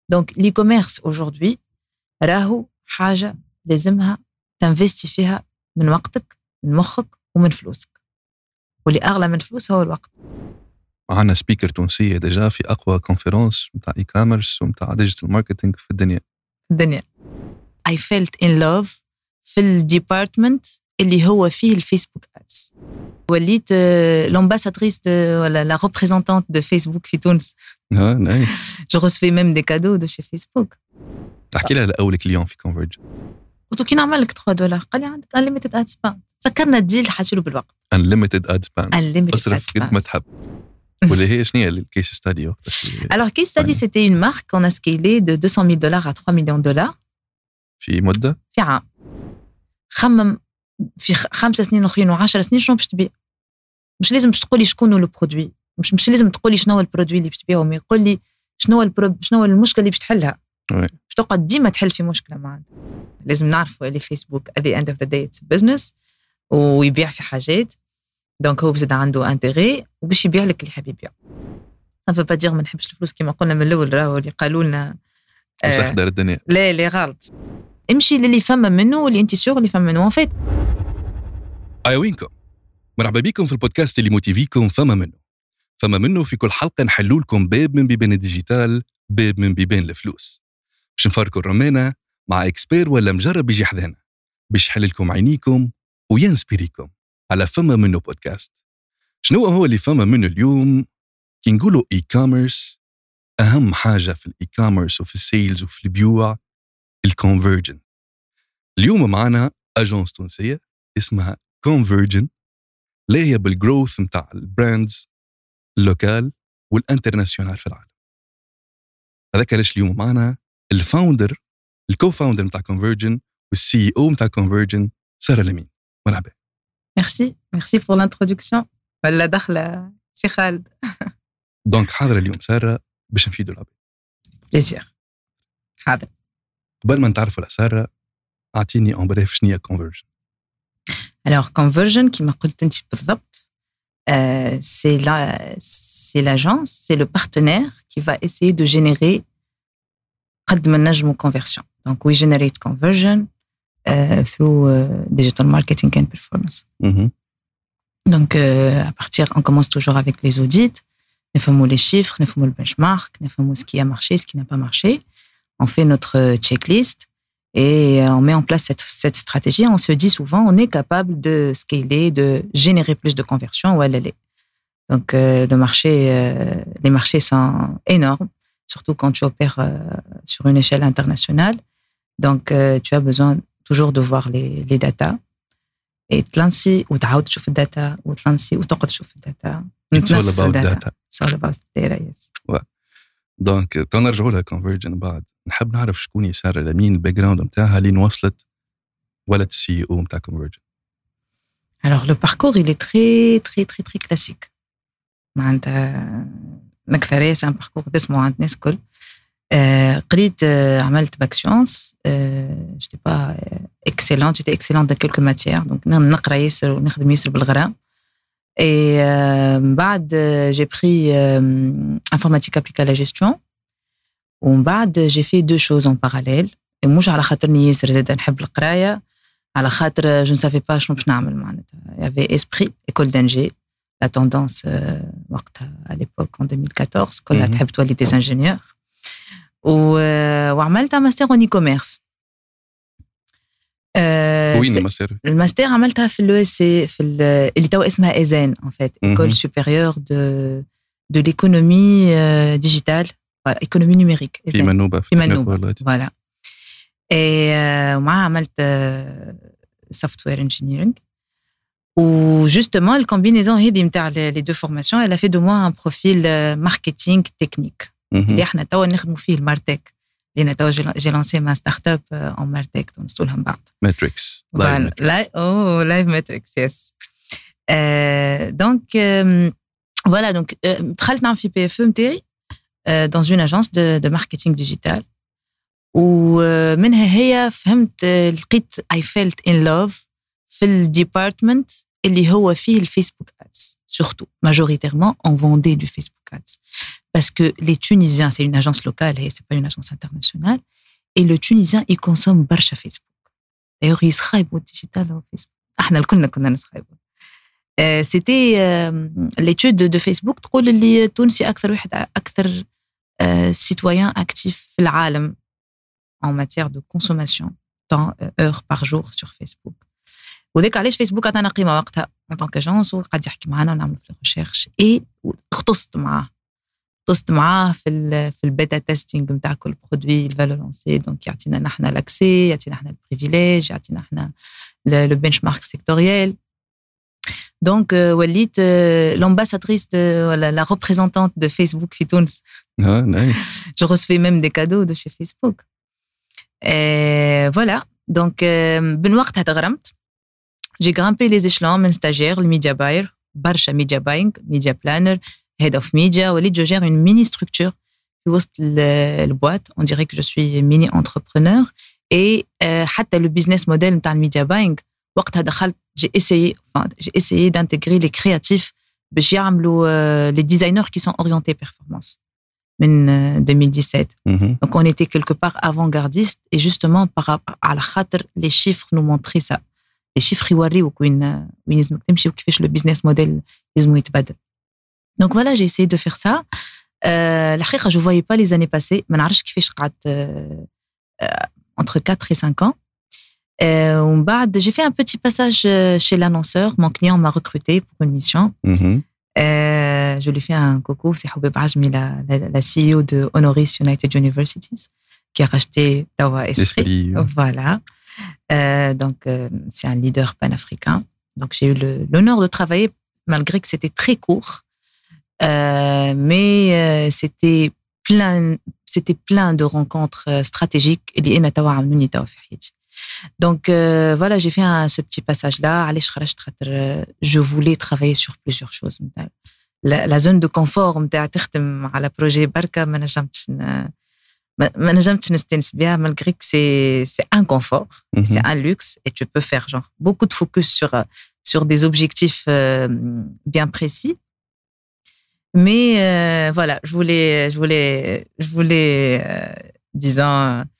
دونك لي كوميرس aujourd'hui راهو حاجة لازمها تنفستي فيها من وقتك من مخك ومن فلوسك، واللي أغلى من فلوس هو الوقت. معنا سبيكر تونسية ديجا في أقوى كونفرنس متاع إي كاميرس ومتاع ديجيتال ماركتينج في الدنيا. I felt in love في الديبارتمنت اللي هو فيه الفيسبوك أدز. وليت l'ambassadrice ولا la représentante de Facebook في تونس. نايس. Je recevais même des cadeaux de chez Facebook. تحكي لها لأول كليون في كونفيرجن. قلت له كي نعمل لك $3 قال لي عندك unlimited ad spend. سكرنا الديل حاسيله بالوقت. unlimited ad spend. أصرف قد ما تحب. واللي هي شنو هي الكيس ستادي وقتها؟ Alors case study c'était une marque qu'on a scalé de $200,000 à $3 millions. في مدة؟ في عام. خمم في 5 سنين أخرين و10 سنين شنو باش تبيع. مش لازم تقولي شكون هو البرودوي، مش لازم تقولي شنو هو البرودوي اللي باش تبيعه، ما يقول لي شنو هو المشكله اللي باش تحلها. باش تقعد ديما تحل في مشكله معنا. لازم نعرفوا اللي فيسبوك at the end of the day it's business ويبيع في حاجات، دونك هو بزاد عنده انتيغي وباش يبيع لك اللي حاب يبيع. ما فا با دير ما نحبش الفلوس كما قلنا من الاول، راهو اللي قالوا لنا صح دار الدنيا. لا غلط، امشي للي فما منه واللي انت سيغ اللي فما منه. ان فيت وينكم مرحبا بكم في البودكاست اللي موتيفيكم فما منه في كل حلقة نحلوا لكم باب من بيبان الديجيتال، باب من بيبان الفلوس، باش نفاركوا الرمانة مع اكسبير ولا مجرب يجي حذانا باش يحل لكم عينيكم وينسبيريكم على فما منه بودكاست. شنو هو اللي فما منه اليوم؟ كي نقولوا اي كوميرس، اهم حاجة في الاي كوميرس وفي السيلز وفي البيوع الكونفيرجن. اليوم معنا اجونس تونسية اسمها كونفيرجن، اللي هي بالجروث متاع البراندز اللوكال والانترناسيونال في العالم. هذاك علاش اليوم معنا الفاوندر الكو-فاوندر متاع كونفيرجن والسي او متاع كونفيرجن سارة لمين. مرحبا. ميرسي بور لانترودكسيون ولا دخله سي خالد. دونك حاضر اليوم سارة باش نفيدوا العباد. بليزير. حاضر. قبل ما نتعرفوا على سارة اعطيني en bref شنو هي كونفيرجن. Alors conversion كما قلت انت بالضبط c'est l'agence, c'est le partenaire qui va essayer de générer قد ما نجمو conversion. Donc we generate conversion through digital marketing and performance. Donc à partir, on commence toujours avec les audits, نفهموا les chiffres, نفهموا le benchmark, نفهموا ce qui a marché, ce qui n'a pas marché. On fait notre checklist et on met en place cette stratégie. On se dit souvent, on est capable de scaler, de générer plus de conversions. Donc les marchés sont énormes, surtout quand tu opères sur une échelle internationale. Donc tu as besoin toujours de voir les datas. Et تلانسي وتعاود تشوف الداتا وتلانسي وتقعد تشوف الداتا. It's all about data. It's all about data, yes. دونك تنرجعوا لها كونفيرجن بعد. نحب نعرف شكون هي سارة لمين، الباك جراوند نتاعها اللي وصلت ولد السي او نتاع كونفيرجن. Alors le parcours il est très très très très classique. معناتها مكثرية c'est un parcours دسمو عند الناس الكل. قريت عملت باك سيونس. j'étais pas excellente, j'étais excellente dans quelques matières, donc نقرا ياسر ونخدم ياسر بالغرام. Et بعد j'ai pris informatique appliquée à la gestion. ومن بعد j'ai fait deux choses en parallèle. مش على خاطرني ياسر زاد نحب القراية، على خاطر je ne savais pas شنو باش نعمل معناتها. Il y avait esprit école d'ingé, la tendance وقتها à l'époque en 2014 كلها تحب تولي des ingénieurs. وعملت ماستر en e-commerce. وين الماستر؟ الماستر عملتها في الESC في اللي توا اسمها EZEN en fait, école supérieure de l'économie digitale, voilà, économie numérique. في منوبة. voilà. Et معها عملت software engineering. و justement la combinaison هذه نتاع les deux formations, elle a fait de moi un profil marketing technique. اللي احنا توا نخدموا فيه المارتك، لأن توا j'ai lancé ma start-up en martech نوصلها من بعد. Matrix. Live Matrix, yes. Donc voilà, donc دخلت نعمل في PFE نتاعي dans une agence de marketing digital. ومنها هي فهمت لقيت I felt in love في الديبارتمنت اللي هو فيه الفيسبوك ads. surtout, majoritairement, on vendait du Facebook Ads. Parce que les Tunisiens, c'est une agence locale et c'est pas une agence internationale, et le Tunisien, il consomme برشا Facebook. D'ailleurs, il يسخايبوا digital au Facebook. احنا الكلنا كنا نسخايبوا. C'était l'étude de Facebook تقول اللي تونسي أكثر citoyen actif في العالم en matière de consommation temps heures par jour sur Facebook. وذاك علاش فيسبوك عطانا قيمه وقتها en tant qu'agence وقعد يحكي معنا ونعمل في الريشيرش اي اختصت معاه في البيتا تيستينغ نتاع كل برودوي الفالو لونسي دونك يعطينا نحن لاكسي يعطينا نحن البريفيليج يعطينا نحن لو بنش مارك سيكتوريال دونك وليت l'ambassadrice ولا la représentante de Facebook في تونس. nice. Je recevais même des cadeaux de chez Facebook. Et voilà donc من وقتها تغرمت. J'ai grimpé les échelons من stagiaire, le media buyer, برشا media buying, media planner, head of media, وليت je gère une mini structure في وسط البوات. On dirait que je suis mini entrepreneur. Et حتى le business model نتاع الميديا باينغ وقتها دخلت j'ai essayé d'intégrer les créatifs باش يعملوا les designers qui sont orientés performance من 2017. Donc on était quelque part avant-gardiste et justement par rapport على خاطر les chiffres nous montraient ça. Les chiffres يوريوك وين لازمك تمشي وكيفاش le business model لازم يتبدل. Donc voilà, j'ai essayé de faire ça. الحقيقة je voyais pas les années passées. ما نعرفش كيفاش قعدت entre 4 et 5 ans. ومن بعد j'ai fait un petit passage chez l'annonceur. Mon client m'a recruté pour une mission. Je lui fais un coucou, c'est Houbeb Ajmi, la CEO de Honoris United Universities, qui a racheté Tawa Esprit. Voilà. Donc, c'est un leader panafricain. Donc, j'ai eu l'honneur de travailler, malgré que c'était très court. Mais c'était plein de rencontres stratégiques. Donc, voilà, j'ai fait ce petit passage-là. Je voulais travailler sur plusieurs choses. La zone de confort, على projet بركة ما نجمتش نستنس بها malgré que c'est un confort, c'est un luxe et tu peux faire genre beaucoup de focus sur des objectifs bien précis. Mais voilà, je voulais disons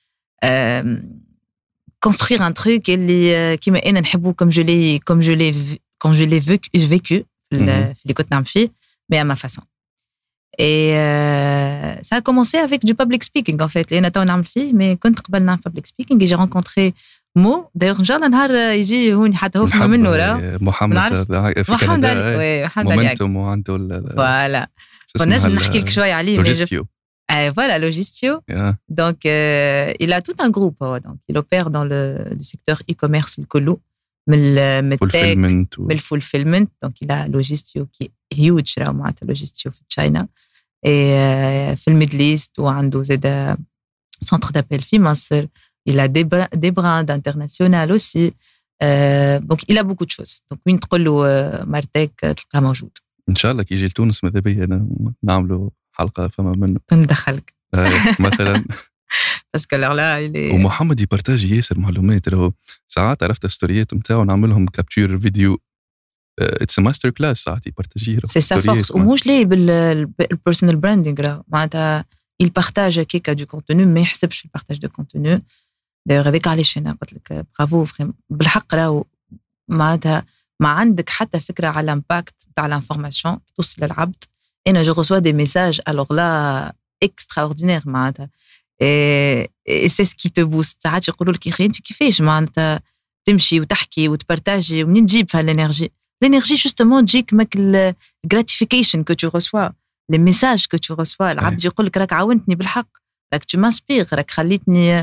construire un truc qui m'a نحبه comme je l'ai vécu اللي كنت نعمل فيه mais à ma façon. Et ça a commencé avec du public speaking en fait. اللي انا تو نعمل فيه mais كنت قبل نعمل public speaking et j'ai rencontré Mo. D'ailleurs ان شاء الله نهار يجي هون حتى هو فما منه راه محمد في كندا مومنتوم وعنده فوالا نجم نحكي لك شويه عليه لوجيستيو. Voilà, Logistio. Yeah. Donc, il a tout un groupe. Donc, il opère dans le secteur e-commerce, le colo, le fulfillment. Donc, il a Logistio qui est huge, Logistio في China. Et في Middle East, où il a un centre d'appel في مصر. Il a des brins internationaux aussi. Donc, il a beaucoup de choses. Donc, وين تقول له مرتك تلقاه موجود. إن شاء الله كي يجي لتونس ماذا بيا نعملوا حلقة فما منه ندخلك مثلا بس كالر لا ومحمد يبارتاجي ياسر معلومات راهو ساعات عرفت ستوريات نتاعو نعملهم كابتشر فيديو اتس ماستر كلاس ساعات يبارتاجي سي سا فورس ومش ليه بالبيرسونال براندينغ راه معناتها يبارتاج كيكا دو كونتوني ما يحسبش البارتاج دو كونتوني دايوغ هذاك علاش انا قلت لك برافو بالحق راهو معناتها ما عندك حتى فكره على الامباكت تاع الانفورماسيون توصل للعبد. انا جو reçois des messages alors là extraordinaire معناتها et c'est ce qui te booste. ساعات يقولوا لك يا اخي انت كيفاش معناتها تمشي وتحكي وتبارتاجي ومنين تجيب هالانرجي justement تجيك ماك gratification que tu reçois les messages que tu reçois. العبد يقول لك راك عاونتني بالحق راك tu m'inspires راك خليتني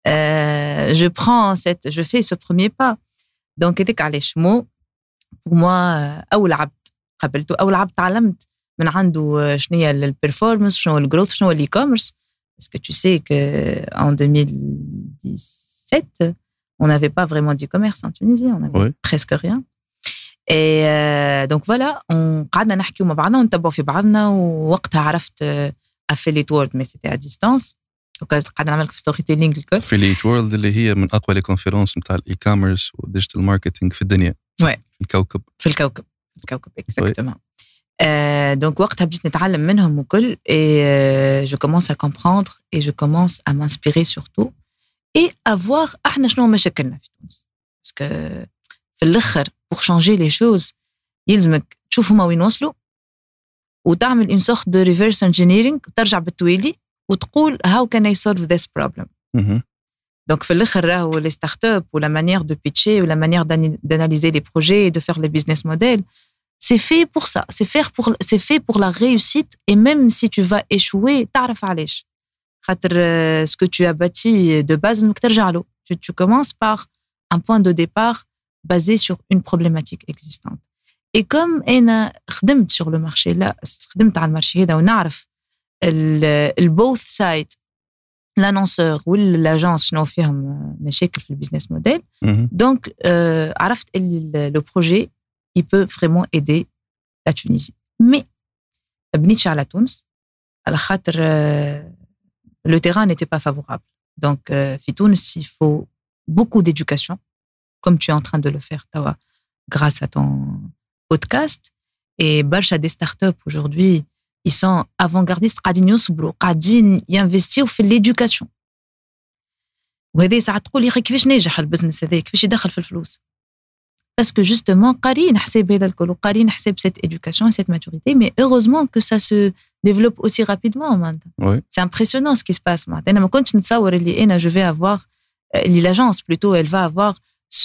je fais ce premier pas. donc هذاك علاش مو pour moi اول عبد قابلته اول عبد تعلمت من عنده شنو هي البرفورمانس شنو الجروث شنو الاي كوميرس. Parce que tu sais qu'en 2017, on n'avait pas vraiment d'e-commerce en Tunisie, on n'avait presque rien. Et donc voilà, on قعدنا نحكيو مع بعضنا ونتبعوا في بعضنا ووقتها عرفت affiliate world mais c'était à distance. وقعدنا نعمل في ستوري تيلينغ الكل. في الكوكب. الكوكب exactement. Donc وقتها بديت نتعلم منهم وكل et je commence à comprendre et je commence à m'inspirer surtout et à voir احنا شنو مشاكلنا في تونس. Parce que في الاخر pour changer les choses يلزمك تشوف هما وين وصلوا وتعمل une sorte de reverse engineering وترجع بالتوالي وتقول how can I solve this problem. Donc في الاخر راهو les startups ou la manière de pitcher ou la manière d'analyser les projets et de faire les business models, c'est fait pour ça, c'est fait pour la réussite et même si tu vas échouer تعرف علاش. خاطر ce que tu as bâti de base انك ترجع له. Tu commences par un point de départ basé sur une problématique existante. Et comme أنا خدمت sur le marché là, خدمت على المارشي هذا ونعرف both sides, l'annonceur ou l'agence شنو فيهم مشاكل في البيزنس موديل. Donc عرفت le projet il peut vraiment aider la Tunisie. Mais بنيتش على تونس على خاطر le terrain n'était pas favorable. Donc في تونس il faut beaucoup d'éducation comme tu es en train de le faire toi grâce à ton podcast. Et برشا des startups aujourd'hui ils sont avant-gardistes قاعدين يصبروا قاعدين ينفستيو في l'éducation. وهذا ساعات تقول يا اخي كيفاش ناجح البزنس هذا كيفاش يدخل في الفلوس. Parce que justement قارين حساب هذا الكل وقارين حساب cette éducation et cette maturité, mais heureusement que ça se développe aussi rapidement maintenant. Oui. C'est impressionnant ce qui se passe maintenant. أنا ما كنتش نتصور اللي أنا je vais avoir l'agence plutôt elle va avoir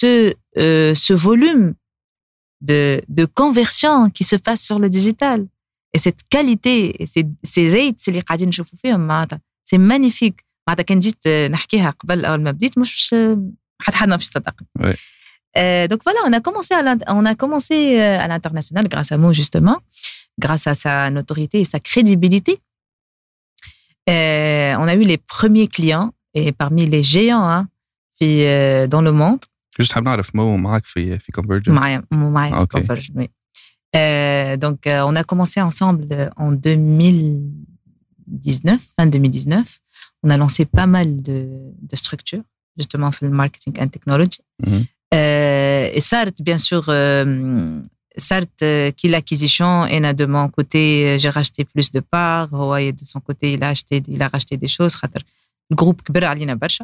ce volume de conversion qui se passe sur le digital. Et cette qualité, et ces rates اللي قاعدين نشوفوا فيهم معناتها c'est magnifique. معناتها كان جيت نحكيها قبل أول ما بديت مش حد ما فيش صدقني. Donc voilà, on a commencé à l'international grâce à Mo justement, grâce à sa notoriété et sa crédibilité. On a eu les premiers clients et parmi les géants dans le monde. Juste حاب نعرف مو معك في Convergent. معايا في Convergent, oui. Donc on a commencé ensemble en 2019, fin 2019. On a lancé pas mal de structures justement pour le marketing and technology. Et Sart, bien sûr, Sart, qui l'acquisition, et de mon côté, j'ai racheté plus de parts. Et de son côté, il a racheté des choses. Le groupe كبر علينا برشا.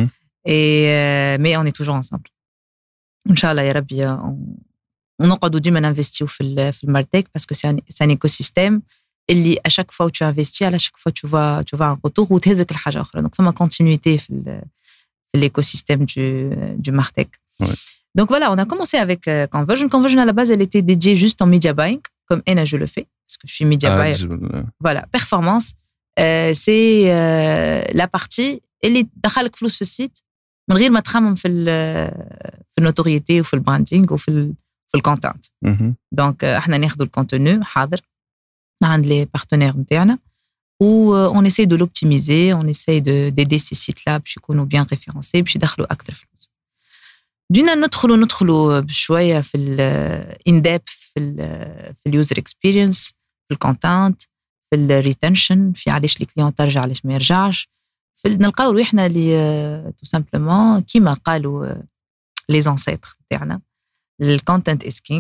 Mais on est toujours ensemble. Inch'Allah, ya Rabbi, on نقعدوا ديما نinvestir في المارتك parce que c'est un écosystème اللي à chaque fois où tu investis, à chaque fois tu vas un retour وتهزك الحاجة أخرى. Donc, فما continuité في l'écosystème du martech. Ouais. Donc voilà, on a commencé avec Convergent. Convergent à la base, elle était dédiée juste en media buying, comme Ena je le fais, parce que je suis media buyer. Voilà, performance, c'est la partie اللي تدخلك فلوس في السيت من غير ما تخمم في النوتوريتي وفي البراندينغ وفي الكونتنت. Donc احنا ناخذ الكونتوني حاضر عند les partenaires نتاعنا on essaie de l'optimiser, on essaie d'aider ces sites-là باش يكونوا bien référencés باش يدخلوا أكثر فلوس. بدينا ندخلوا بشوية في in depth في user experience, في الكونتنت, في retention, في علاش الكليون ترجع علاش ما يرجعش. نلقاو روحنا اللي tout simplement كيما قالوا les ancêtres تاعنا le content is king.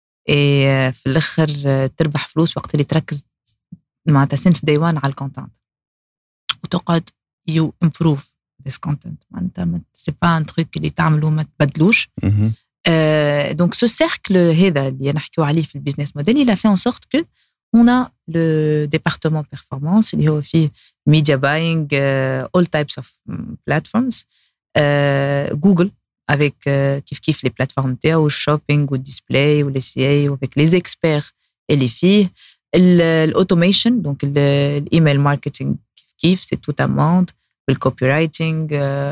في الآخر تربح فلوس وقت اللي تركز معناتها since day one على الكونتنت وتقعد you improve this content. معناتها c'est pas un truc اللي تعملوا ما تبدلوش. Donc ce cercle هذا اللي نحكيو عليه في البيزنس موديل il a fait en sorte que on a le département performance اللي هو فيه media buying, all types of platforms, Google avec كيف les plateformes تاعو shopping ou display ou les CA ou avec les experts et les filles, l'automation donc l'email marketing كيف c'est tout un monde, le copywriting,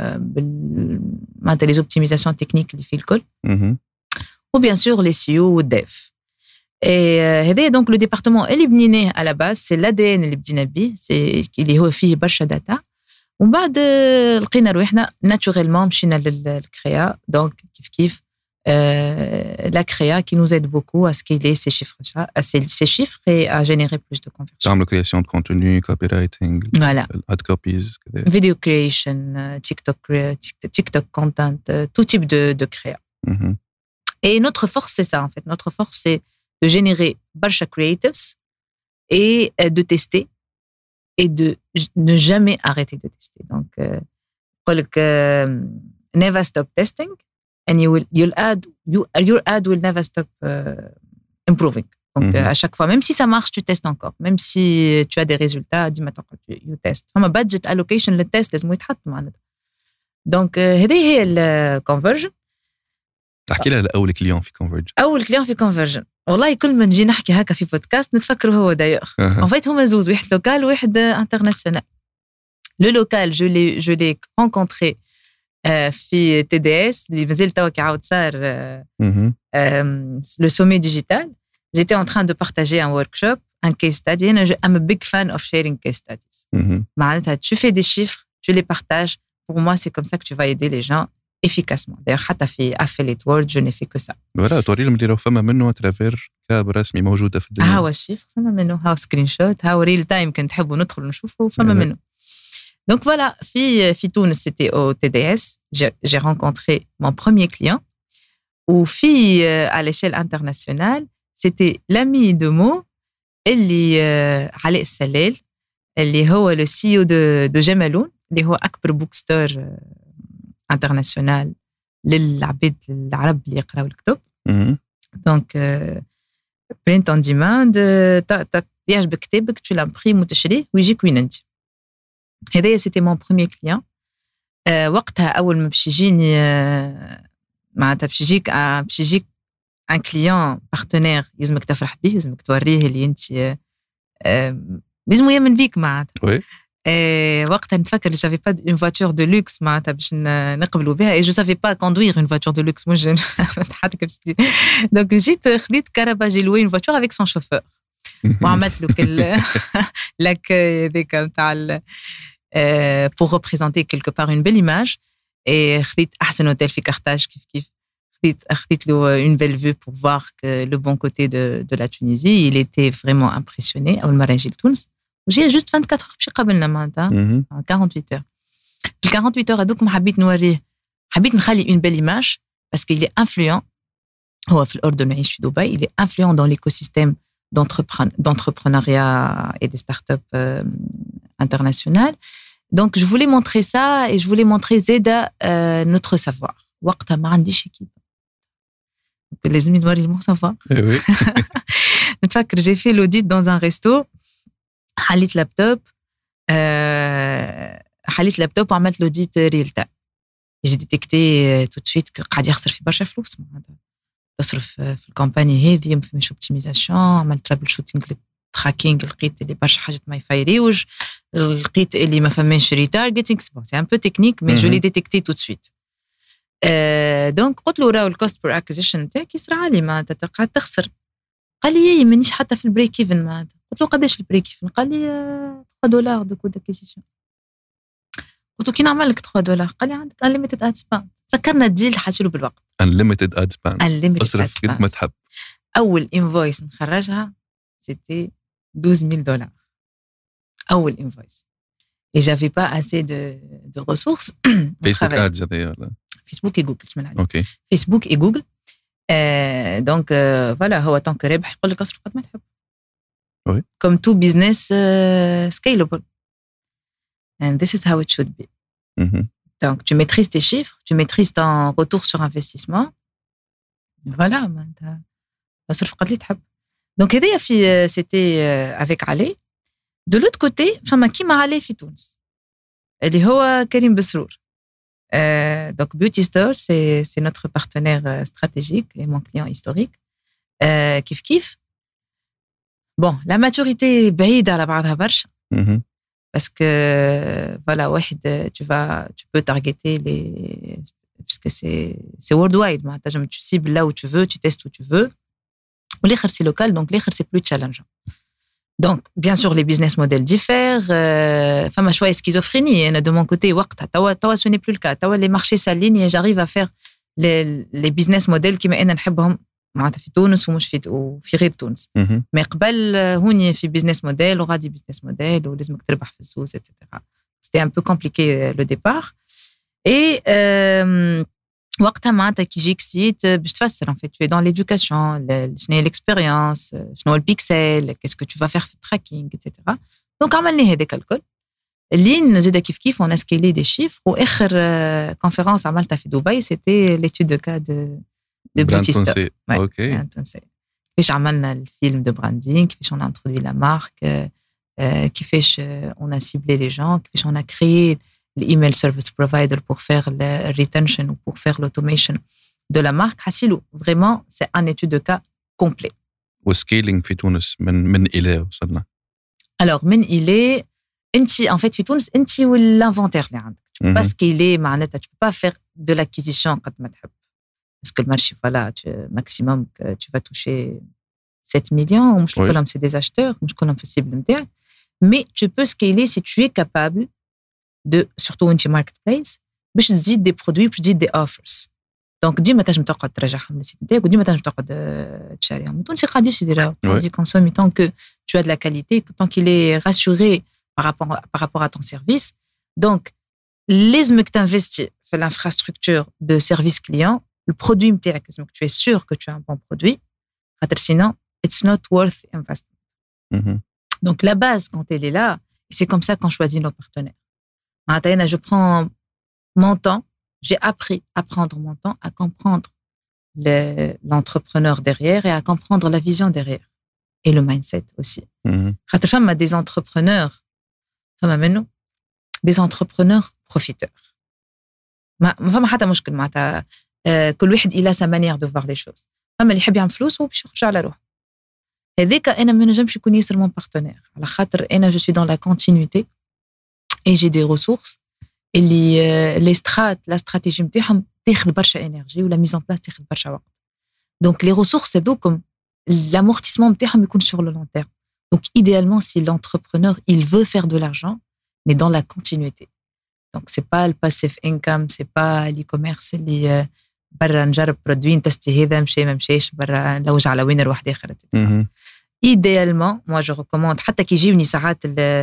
les optimisations techniques اللي فيه الكل, ou bien sûr les SEO ou dev. Et هذا donc le département اللي بنيناه à la base c'est l'ADN اللي بدينا بيه, c'est اللي هو فيه برشا داتا. ومن بعد لقينا روحنا naturellement مشينا للكريا. donc كيف la créa qui nous aide beaucoup à scaler ces chiffres et à générer plus de conversions. تعملوا création de contenu, copywriting, voilà, ad copies, video creation, TikTok content, tout type de créa. Et notre force c'est ça en fait. Notre force c'est de générer برشا creatives et de tester et de ne jamais arrêter de tester. Donc, never stop testing and your ad will never stop improving. Donc, à chaque fois, même si ça marche, tu testes encore. Même si tu as des résultats, dis maintenant tu testes. فما budget allocation للتست لازم يتحط معناتها. Donc, هذه هي الconversion. تحكي لها لأول كليون في Converge. أول كليون في Conversion. والله كل ما نجي نحكي هكا في بودكاست نتفكر هو دايوغ. En fait هما زوز، واحد لوكال وواحد انترناسيونال. Le local, je l'ai rencontré في TDS اللي مازال توا كي عاود صار le sommet digital. J'étais en train de partager un workshop, un case study. I'm a big fan of sharing case studies. معناتها tu fais des chiffres, tu les partages. Pour moi, c'est comme ça que tu vas aider les gens efficacement. D'ailleurs, حتى في Affiliate World, je n'ai fait que ça. voilà, توري لهم اللي راهو فما منه ترافير كاب رسمي موجودة في الدنيا. هاو الشيفر فما منه، هاو سكرين شوت، هاو ريل تايم كنت تحبوا ندخل نشوفه فما منه. Donc voilà, في تونس c'était au TDS, j'ai rencontré mon premier client. وفي à l'échelle internationale, c'était l'ami de Mo اللي علاء السلال اللي هو le CEO de جمالون اللي هو أكبر بوك ستور انترناسيونال للعباد العرب اللي يقراوا الكتب. دونك برينت اون ديماند، يعجبك كتابك tu l'imprimes وتشريه ويجيك وين انت. هذايا سيتي مون بروميير كليون. وقتها اول ما باش يجيني معناتها باش يجيك ان كليون بارتنير لازمك تفرح به، لازمك توريه اللي انت لازم يامن بيك معناتها. وقتها نتفكر اللي j'avais pas une voiture de luxe معناتها باش نقبلوا بها، et je savais pas conduire une voiture de luxe. moi je حتى كيف donc جيت خديت كهرباء، j'ai loué une voiture avec son chauffeur وعملت له كل l'accueil هذاك نتاع pour représenter quelque part une belle image. et خديت احسن هوتيل في كارتاج كيف خديت له une belle vue pour voir que le bon côté de la Tunisie. il était vraiment impressionné اول مره يجي لتونس. وجي جوست 24 heures باش يقابلنا معناتها 48 heures. في 48 heures هذوك ما حبيت نوريه، حبيت نخلي une belle image parce qu'il est influent. هو في الأردن يعيش في دبي. il est influent dans l'écosystème d'entrepreneuriat et des startups internationales. donc je voulais montrer ça et je voulais montrer زيدا notre savoir. وقتها ما عنديش équipe. لازم نوري mon savoir. نتفكر j'ai fait l'audit dans un resto. حليت لابتوب وعملت لوديت ريل تايم. جي ديتيكتي تو سويت قاعد يخسر في برشا فلوس معناتها. تصرف في الكومباني هذه ما فماش اوبتيميزاسيون. عملت ترابل شوتينغ للتراكينغ، لقيت اللي برشا حاجات ما يفايريوش، لقيت اللي ما فماش ريتارجيتنغ. سي ان بو تكنيك مي جو لي ديتيكتي تو سويت. دونك قلت له راهو الكوست بير اكوزيشن تاعك يصرى عالي معناتها قاعد تخسر. قال لي مانيش حتى في البريك ايفن معناتها. قلت له قداش البريك ايفن؟ قال لي $3 دو كود اكوزيشن. قلت له كي نعمل لك $3؟ قال لي عندك unlimited ad spend. سكرنا الديل حاسيلو بالوقت. unlimited ad spend. اصرف قد ما تحب. اول انفويس نخرجها سيتي $12,000. اول انفويس. et j'avais pas assez de ressources. فيسبوك ادز هذايا ولا فيسبوك وجوجل بسم الله عليك. اوكي فيسبوك وجوجل. دونك فوالا هو طونك ربح يقول لك اصرف قد ما تحب. Oui. Comme tout business scalable. And this is how it should be. Donc, tu maîtrises tes chiffres, tu maîtrises ton retour sur investissement. Voilà. Donc, c'était avec Ali. De l'autre côté, qui m'a allé في تونس اللي هو كريم بسرور. Donc, Beauty Store, c'est notre partenaire stratégique et mon client historique. Kif. Bon, la maturité بعيدة على بعضها برشا. Parce que voilà, tu peux targeter puisque c'est worldwide. Tu cibles là où tu veux, tu testes où tu veux. Ou l'écher c'est local, donc l'écher c'est plus challengeant. Donc, bien sûr, les business models diffèrent. Femme a choix et schizophrénie. Et de mon côté, tawa, ce n'est plus le cas. Tawa, les marchés s'alignent et j'arrive à faire les business models qui m'aident à نحبهم. معناتها في تونس ومش وفي غير تونس. ما قبل هوني في بيزنس موديل وغادي بيزنس موديل ولازمك تربح في السوس etc. C'était un peu compliqué le départ. Et وقتها معناتها كي يجيك سيت باش تفسر en fait tu es dans l'éducation شنو هي l'expérience شنو هو البيكسل qu'est-ce que tu vas faire في التراكينغ etc. دونك عملنا هذاك الكل اللي زاد كيف on a scalé des chiffres واخر conférence عملتها في دبي c'était l'étude de cas de Bootista. اوكي كيفاش عملنا الفيلم de branding كيفاش on a introduit la marque كيفاش on a ciblé les gens كيفاش on a créé l'email service provider pour faire le retention ou pour faire l'automation de la marque. Hassilou, vraiment, c'est un étude de cas complet. والسكيلينغ في تونس من إلى وصلنا. Alors, من إلى, en fait, في تونس, أنت والinventaire اللي عندك. Tu peux pas scaler, معناتها, tu peux pas faire de l'acquisition قد ما تحب. Parce que le marché, voilà, maximum que tu vas toucher 7 millions, مش كلهم c'est des acheteurs, مش كلهم في cible نتاعك. Mais tu peux scaler si tu es capable de surtout انت ماركت بليس باش تزيد دي برودوي باش تزيد دي اوفرز دونك ديما تنجم تقعد ترجعهم للسيت نتاعك وديما تنجم تقعد تشاريهم التونسي قاعدين يديروا قاعد يكونسومي tant que tu as de la qualité tant qu'il est rassuré par rapport à ton service donc لازمك تنفستي في l'infrastructure de service client البرودوي نتاعك لازمك tu es sûr que tu as un bon produit خاطر sinon it's not worth investment. Donc la base quand elle est là et c'est comme ça qu'on choisit nos partenaires. Je prends mon temps, j'ai appris à prendre mon temps, à comprendre l'entrepreneur derrière et à comprendre la vision derrière. Et le mindset aussi. Femme a des entrepreneurs, des entrepreneurs profiteurs. فما حتى مشكل معناتها كل واحد إلى sa manière de voir les choses. فما اللي يحب يعمل فلوس هو باش يخرج على روحه. هذاك أنا ما نجمش يكون ياسر mon partenaire. على خاطر أنا je suis dans la continuité. Et j'ai des ressources et la stratégie نتاعهم تاخذ برشا énergie ou la mise en place تاخذ برشا وقت. Donc les ressources هذوكم l'amortissement نتاعهم يكون sur le long terme. Donc idéalement si l'entrepreneur il veut faire de l'argent mais dans la continuité. Donc c'est pas le passive income, c'est pas l'e-commerce اللي برا نجرب برودوي نتستي هذا مشى ما مشاش برا نلوج على وين نروح داخل. Idéalement moi je recommande حتى كي يجيوني ساعات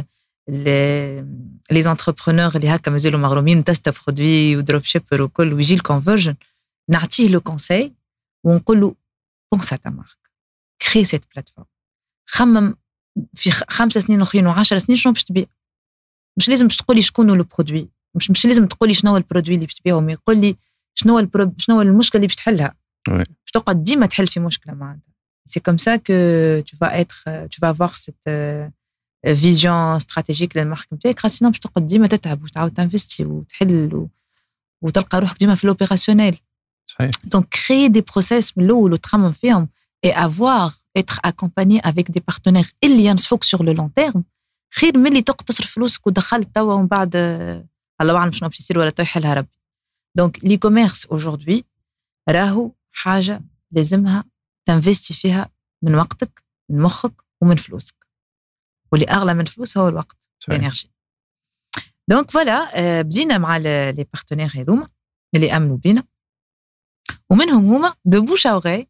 les entrepreneurs اللي هكا مازالوا مغرومين تست برودوي ودروب شيبر وكل ويجي الكونفرجن نعطيه لو كونساي ونقول له بونس تا مارك كري سيت بلاتفورم خمم في 5 سنين اخرين و10 سنين شنو باش تبيع مش لازم باش تقولي شكون هو البرودوي مش لازم تقولي شنو هو البرودوي اللي باش تبيعه ما يقول لي شنو هو المشكله اللي باش تحلها باش تقعد ديما تحل في مشكله معناتها سي كوم سا كو tu vas avoir cette فيزيون استراتيجيك للمارك نتاعك خاصة باش تقعد ديما تتعب وتعاود تنفستي وتحل وتلقى روحك ديما في لوبيراسيونيل. صحيح. Donc créer des process من الاول وتخمم فيهم et être accompagné avec des partenaires اللي ينصحوك sur le long terme خير من اللي تقعد تصرف فلوسك ودخلت توا ومن بعد الله اعلم شنو باش يصير ولا تو يحلها ربي. Donc l'e-commerce aujourd'hui راهو حاجة لازمها تنفستي فيها من وقتك من مخك ومن فلوسك. واللي أغلى من الفلوس هو الوقت الانرجي. دونك فوالا بدينا مع لي بارتنير هذوما اللي امنوا بينا ومنهم هما دو بوش اوغي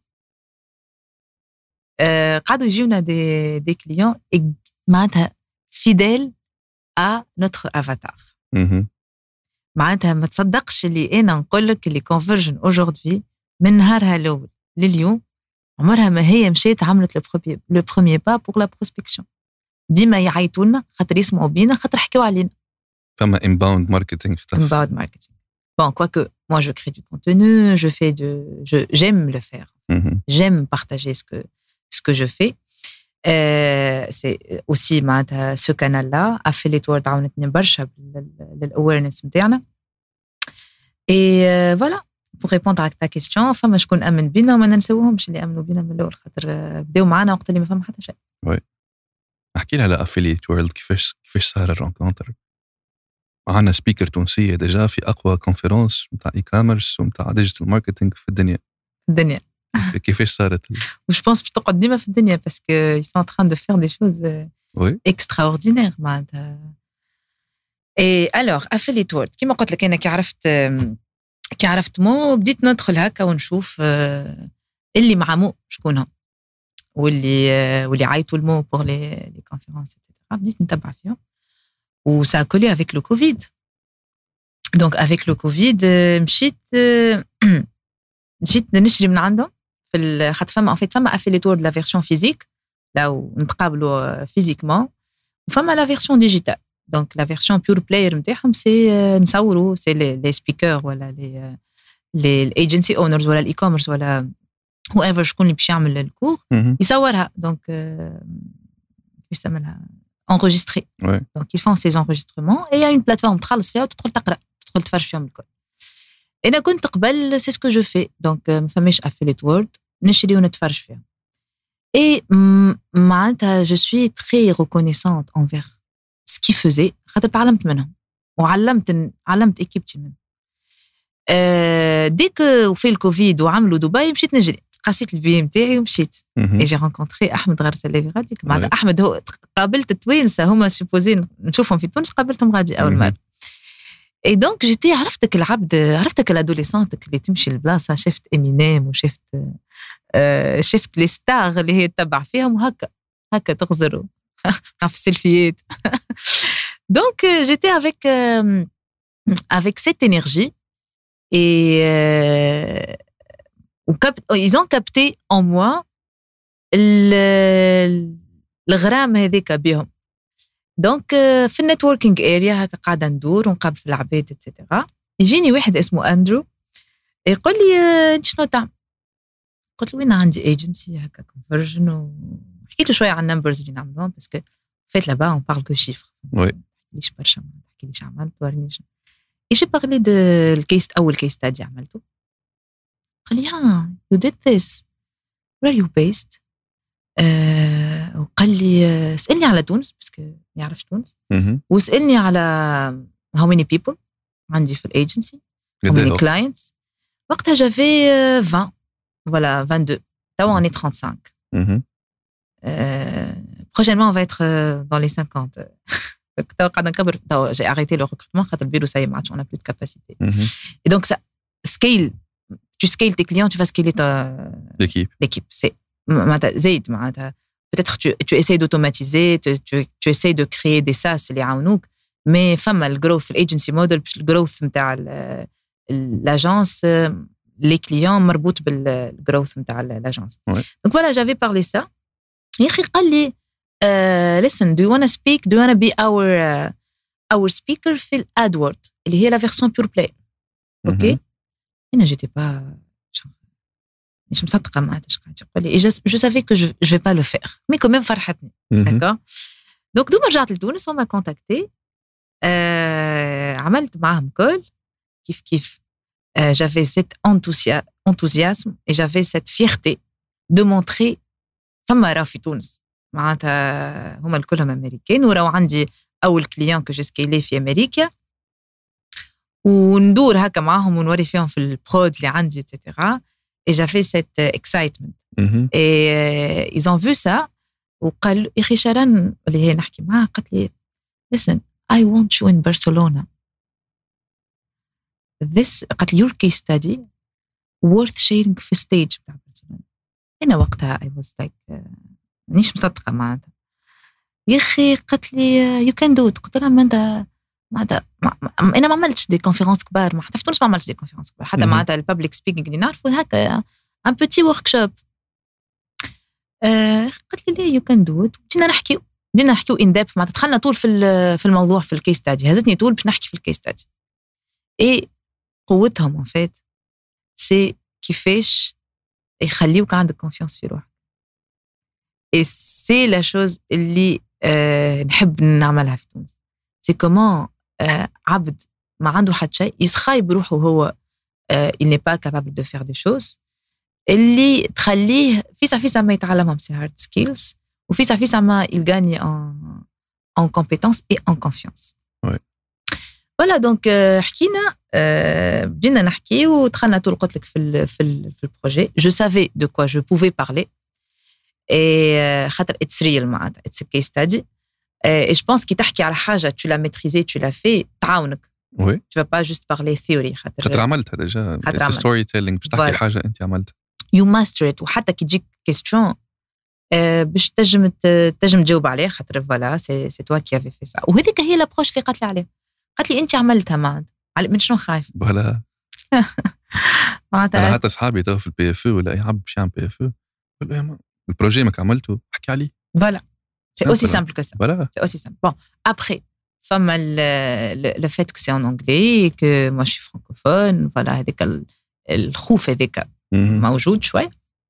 قعدوا يجيونا دي كليون معناتها فيديل ا نوتر افاتار. معناتها ما تصدقش اللي انا نقول لك اللي كونفرجن اوجوردي من نهارها الاول لليوم عمرها ما هي مشيت عملت لو بروميير با بور لا بروسبكسيون. ديما يعيطوا لنا خاطر يسمعوا بينا خاطر حكيوا علينا. فما inbound marketing. Inbound marketing. Bon, quoique moi je crée du contenu, j'aime le faire. J'aime partager ce que je fais. C'est aussi ce canal-là Affiliate World عاونتني برشا للawareness نتاعنا. Et voilà, pour répondre à ta question, فما شكون امن بينا وما ننساوهمش اللي امنوا بينا من الاول خاطر بداوا معنا وقت اللي ما فما حتى شيء. وي. احكي لها على Affiliate World كيفاش صار الرونكونتر. معنا سبيكر تونسية ديجا في أقوى كونفرنس متاع إي كوميرس ومتاع ديجيتال ماركتينغ في الدنيا. كيفاش صارت؟ وش بونس باش تقعد ديما في الدنيا باسكو ils sont en train de faire des choses extraordinaires معناتها. اي الوغ Affiliate World كيما قلت لك انا كي عرفت مو بديت ندخل هكا ونشوف اللي مع مو شكونهم واللي عيطوا المو بور لي كونفرنس بديت نتبع فيهم. وسا a collé avec le Covid. Donc avec le Covid مشيت جيت نشري من عندهم في خاطر فما افيليتور لا فيرسيون فيزيك لو نتقابلوا فيزيكمون وفما لا فيرسيون ديجيتال دونك لا فيرسيون بيور بلاير نتاعهم سي نصوروا سي لي سبيكر ولا لي الايجنسي اونرز ولا الاي كوميرس ولا هو ايفر شكون اللي باش يعمل الكور يصورها دونك كيفاش يسمى enregistré. Ouais. Donc, ils font ces enregistrements et il y a une plateforme تخلص فيها وتدخل تقرأ تدخل تفرج فيهم الكل. أنا كنت قبل c'est ce que je fais. Donc, ما فماش affiliate word نشري ونتفرج فيها. Et معناتها je suis très reconnaissante envers ce qu'ils faisaient. خاطر تعلمت منهم علمت إكيبتي منهم. dès que وفي الكوفيد وعملوا دبي مشيت نجري. قاسيت البي متاعي ومشيت اي جي رونكونتري احمد غرسلي غادي مع احمد هو قابلت التوينسه هما سوبوزين نشوفهم في تونس قابلتهم غادي اول مره اي دونك جيتي عرفتك العبد عرفتك الادوليسونتك اللي تمشي للبلاصه شفت امينيم وشفت شفت لي ستار اللي هي تتبع فيهم هكا تغزروا في السيلفيات دونك جيتي avec cette énergie et ils ont capté en moi الغرام هذيك بهم دونك في النتوركينج اريا هكا قاعده ندور ونقابل في العباد اتسيتيرا يجيني واحد اسمه اندرو يقول لي انت شنو تعمل قلت له وين عندي ايجنسي هكا كونفرجن وحكيت له شويه عن النمبرز اللي نعملهم باسكو فايت لابا اون بارل كو شيفر وي ليش برشا ما تحكيليش عملت ورنيش ايش بارلي دو الكيس اول كيس ستادي عملته قال لي you did this where are you based وقال لي اسألني على تونس باسكو ما يعرفش تونس واسألني على how many people عندي في الايجنسي how many clients وقتها j'avais 20 voilà 22 توا on est 35 prochainement on va être dans les 50 توا قاعدة نكبر توا j'ai arrêté le recrutement خاطر البيرو ça y est ما عادش on a plus de capacité et donc ça scale tu scales tes clients, tu vas scaler l'équipe. C'est peut-être tu essayes d'automatiser, tu essayes de créer des SaaS اللي يعاونوك, mais فما الجروث الايجنسي موديل باش الجروث نتاع الاجانس les clients مربوط بالجروث نتاع الاجانس. Donc voilà, j'avais parlé ça. يا اخي قال لي listen, do you want to speak? Do you want to be our speaker في الادورد اللي هي la version pure play. OK? أنا j'étais pas مش مصدقة ما عادش قاعد يقول لي je savais que je vais pas le faire mais quand même فرحتني d'accord donc دوما رجعت لتونس وما كونتاكتي عملت معهم كل كيف j'avais cet enthousiasme et j'avais cette fierté de montrer فما راه في تونس معناتها هما الكلهم أمريكان وراو عندي أول كليان كو جو سكيلي في أمريكا وندور هكا معهم ونوري فيهم في البرود اللي عندي etc. et j'avais cette excitement et ils ont vu ça وقال اخي شرن اللي هي نحكي معها قالت لي listen I want you in Barcelona this قالت لي your case study worth sharing في stage بتاع برشلونة. أنا وقتها I was like مانيش مصدقة معناتها يا أخي قالت لي you can do it قلت لها ما أنت أنا ما عملتش دي كونفيرنس كبار حتى في تونس ما عملتش دي كونفيرنس كبار حتى معناتها البابليك سبيكينغ اللي نعرفه هكا ان بوتي ورك شوب قالت لي ليه يو كان دو ات بدينا نحكيو ان ديبث معناتها دخلنا طول في الموضوع في الكيس ستادي هزتني طول باش نحكي في الكيس ستادي اي قوتهم ان فيت سي كيفاش يخليوك عندك كونفيونس في روحك اي سي لا شوز اللي نحب نعملها في تونس سي كومون عبد ما عنده حد شيء يسخايب بروحه وهو il n'est pas capable de faire des choses اللي تخليه فيسا ما يتعلمهم سي hard skills وفيسا ما il gagne en compétences et en confiance. Ouais. Voilà donc حكينا بدينا نحكي ودخلنا طول قلت لك في البروجي. Je savais de quoi je pouvais parler et خاطر it's real معناتها it's a case study. Et je pense qu'il تحكي على حاجة tu l'as maîtrisé tu l'as fait تعاونك. Oui. Tu vas pas juste parler theory خاطر عملتها ديجا it's story telling باش تحكي حاجة أنت عملتها. You master it وحتى كي تجيك question باش تجم تجاوب عليه خاطر فوالا سي toi qui avait fait ça. وهذيك هي الابروش اللي قالت لي عليها. قالت لي أنت عملتها من شنو خايف؟ فوالا. انا حتى اصحابي تو في البي اف ولا اي عبد باش يعمل بي اف يقول له يا البروجي ماك عملته احكي عليه. Voilà. C'est aussi simple que ça. Voilà. C'est aussi simple. Bon, après, le fait que c'est en anglais et que moi je suis francophone, voilà, هذاك الخوف هذاك موجود شوي.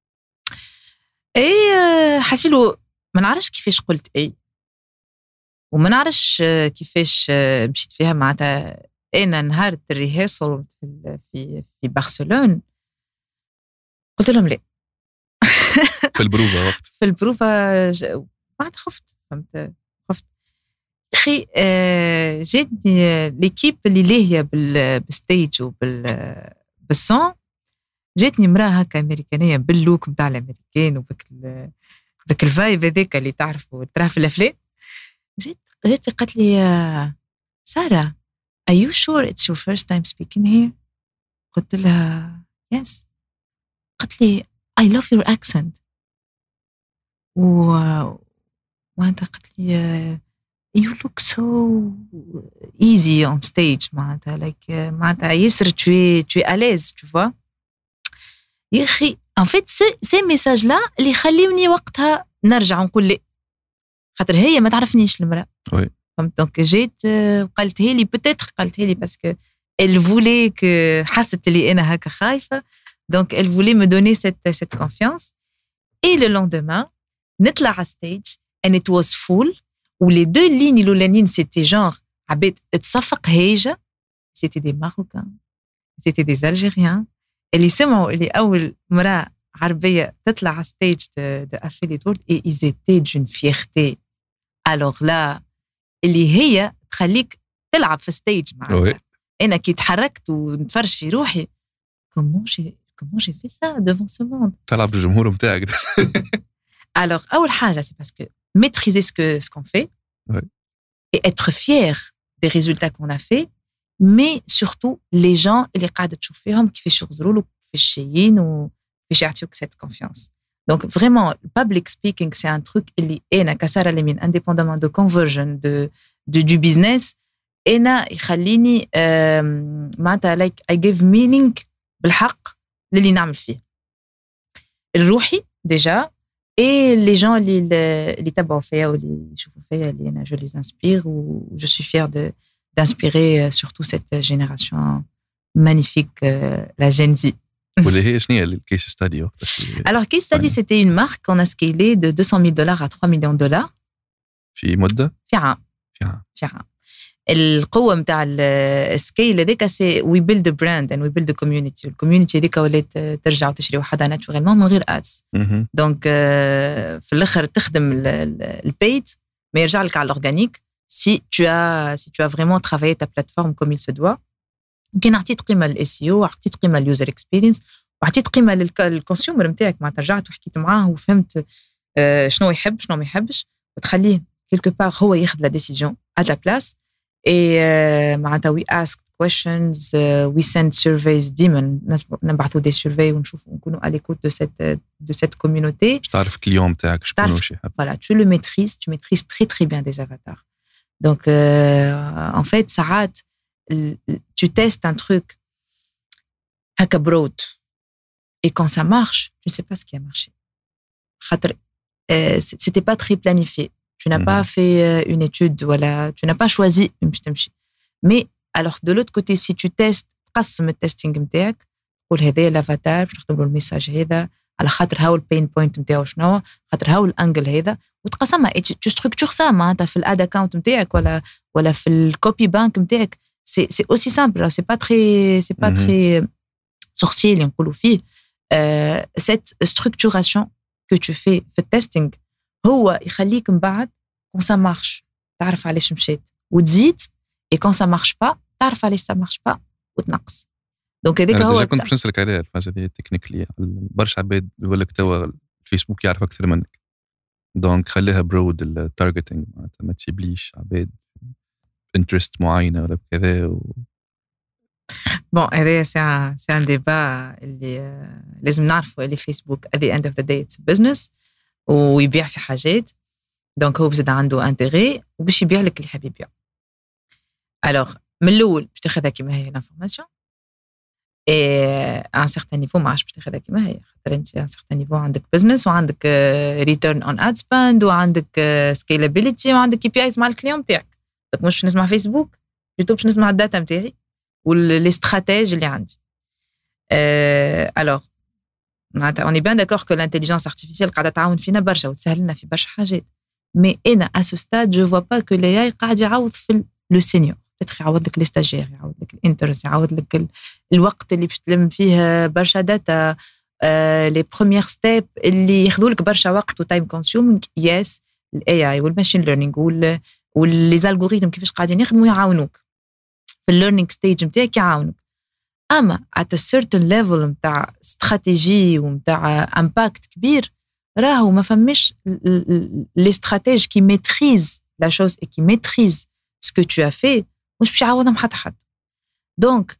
اي حسيلو ما نعرفش كيفاش قلت اي وما نعرفش كيفاش مشيت فيها معناتها. انا نهار الريهرسل في برشلونة قلت لهم لا. في البروفا وقت في البروفا بعد خفت اخي. جاتني ليكيب اللي لاهيه بالستيج بالصون. جاتني امراه هكا امريكانيه باللوك نتاع الامريكان وبك الفايب هذاك اللي تعرفوا تراه في الافلام. جات قالت لي ساره are you sure it's your first time speaking here؟ قلت لها yes. قالت لي I love your accent. وانت قالت لي you look so easy on stage معناتها like معناتها يسر tu es à l'aise tu vois. يا اخي en fait ces messages là اللي يخليوني وقتها نرجع نقول لي خاطر هي ما تعرفنيش المرأة. وي فهمت. دونك جيت قالتها لي بتاتر قالتها لي باسكو elle voulait que حست اللي انا هكا خايفه. donc elle voulait me donner cette confiance. et le lendemain نطلع على stage and it was full où les deux lignes الأولانيين c'était genre عباد تصفق هيجة. c'était des Marocains c'était des Algériens اللي سمعوا اللي أول مرة عربية تطلع على stage de Affiliate World et ils étaient d'une fierté. alors là اللي هي تخليك تلعب في stage معنا. أنا كي تحركت ونتفرج في روحي comment j'ai fait ça devant ce monde. تلعب بالجمهور متاعك. alors أول حاجة c'est parce que maîtriser ce qu'on fait et être fier des résultats qu'on a fait, mais surtout les gens اللي قاعدة تشوف فيهم كيفاش يغزروا له كيفاش جايين وكيفاش يعطيوك cette confiance. donc vraiment public speaking c'est un truc اللي أنا كسارة لمين indépendamment de conversion du business أنا يخليني معناتها like I give meaning بالحق للي نعمل فيه الروحي déjà. Et les gens اللي تبعوا فيا واللي يشوفوا فيا اللي أنا je les inspire ou je suis fière d'inspirer surtout cette génération magnifique, la Gen Z. واللي هي شنو هي الكيس ستادي وقتها؟ Alors case study c'était une marque qu'on a scalé de $200,000 à $3 millions في مدة؟ في عام. القوة متاع السكيل هذاك سي وي بيلد براند اند وي بيلد كوميونيتي. الكوميونيتي هذيك ولات ترجع وتشري وحدها ناتشورالمون من غير ادز. دونك في الاخر تخدم البيد ما يرجع لك على الاورجانيك si tu as vraiment travaillé ta plateforme comme il se doit. يمكن عطيت قيمة للSEO وعطيت قيمة لليوزر اكسبيرينس وعطيت قيمة للكونسيومر نتاعك معناتها رجعت وحكيت معاه وفهمت شنو يحب شنو ما يحبش وتخليه quelque part هو ياخذ la décision à ta place. Et معناتها we ask questions, we send surveys ديما نبعثوا des surveys ونشوفوا نكونوا à l'écoute de cette communauté. تعرف الكليون نتاعك شكون واش يحب. Voilà, tu le maîtrises, tu maîtrises très très bien des avatars. Donc en fait ساعات tu testes un truc هكا broad et quand ça marche, tu ne sais pas ce qui a marché. خاطر c'était pas très planifié. Tu n'as pas fait une étude, voilà, tu n'as pas choisi une petite. Mais alors de l'autre côté, si tu testes, قسم التستينج نتاعك، قول هذا الافاتار باش نخدموا الميساج هذا على خاطر هاو البين بوينت نتاعو شنو، خاطر هاو الانجل هذا، وتقسمها tu structures ça معناتها في الاد اكاونت نتاعك ولا في الكوبي بانك نتاعك. c'est aussi simple, c'est pas très sorcier اللي نقولوا فيه. Cette structuration que tu fais في التستينج هو يخليك من بعد quand ça marche تعرف علاش مشيت وتزيد et quand ça marche pas تعرف علاش ça marche pas وتنقص. دونك هذاك هو كنت باش نسالك عليها الفاز هذه تكنيكلي. برشا عباد يقول لك توا الفيسبوك يعرف اكثر منك، دونك خليها برود التارجتينج معناتها ما تسيبليش عباد انترست معينه ولا كذا بون هذا سي ان ديبا اللي لازم نعرفوا اللي فيسبوك at the end of the day it's business ويبيع في حاجات، دونك هو بزاد عنده انتيغي وباش يبيع لك اللي حاب يبيع. الوغ من الاول باش تاخذها كيما هي الانفورماسيون et à un certain niveau ما عادش باش تاخذها كيما هي خاطر انت à un certain niveau عندك business وعندك return on ad spend وعندك scalability وعندك KPIs مع الكليون تاعك دونك مش نسمع فيسبوك بلوتو باش نسمع الداتا نتاعي واللي استراتيجي اللي عندي alors on est bien d'accord que l'intelligence artificielle قاعده تعاون فينا برشا وتسهل لنا في برشا حاجات mais انا à ce stade je vois pas que l'AI قاعد يعوض في le senior peut-être يعوض لك لي ستاجير يعوض لك الانترز يعوض لك الوقت اللي باش تلم فيه برشا داتا لي بروميير ستيب اللي ياخذوا لك برشا وقت وتايم كونسيومينغ يس الاي اي والماشين ليرنينغ واللي الالغوريثم كيفاش قاعدين يخدموا يعاونوك في الليرنينغ ستيج نتاعك يعاونوك اما at a certain level نتاع استراتيجي ونتاع امباكت كبير راهو ما فماش لي استراتيج كي ميتريز لا شوز اي كي ميتريز سكو تو في مش باش يعوضهم حتى حد دونك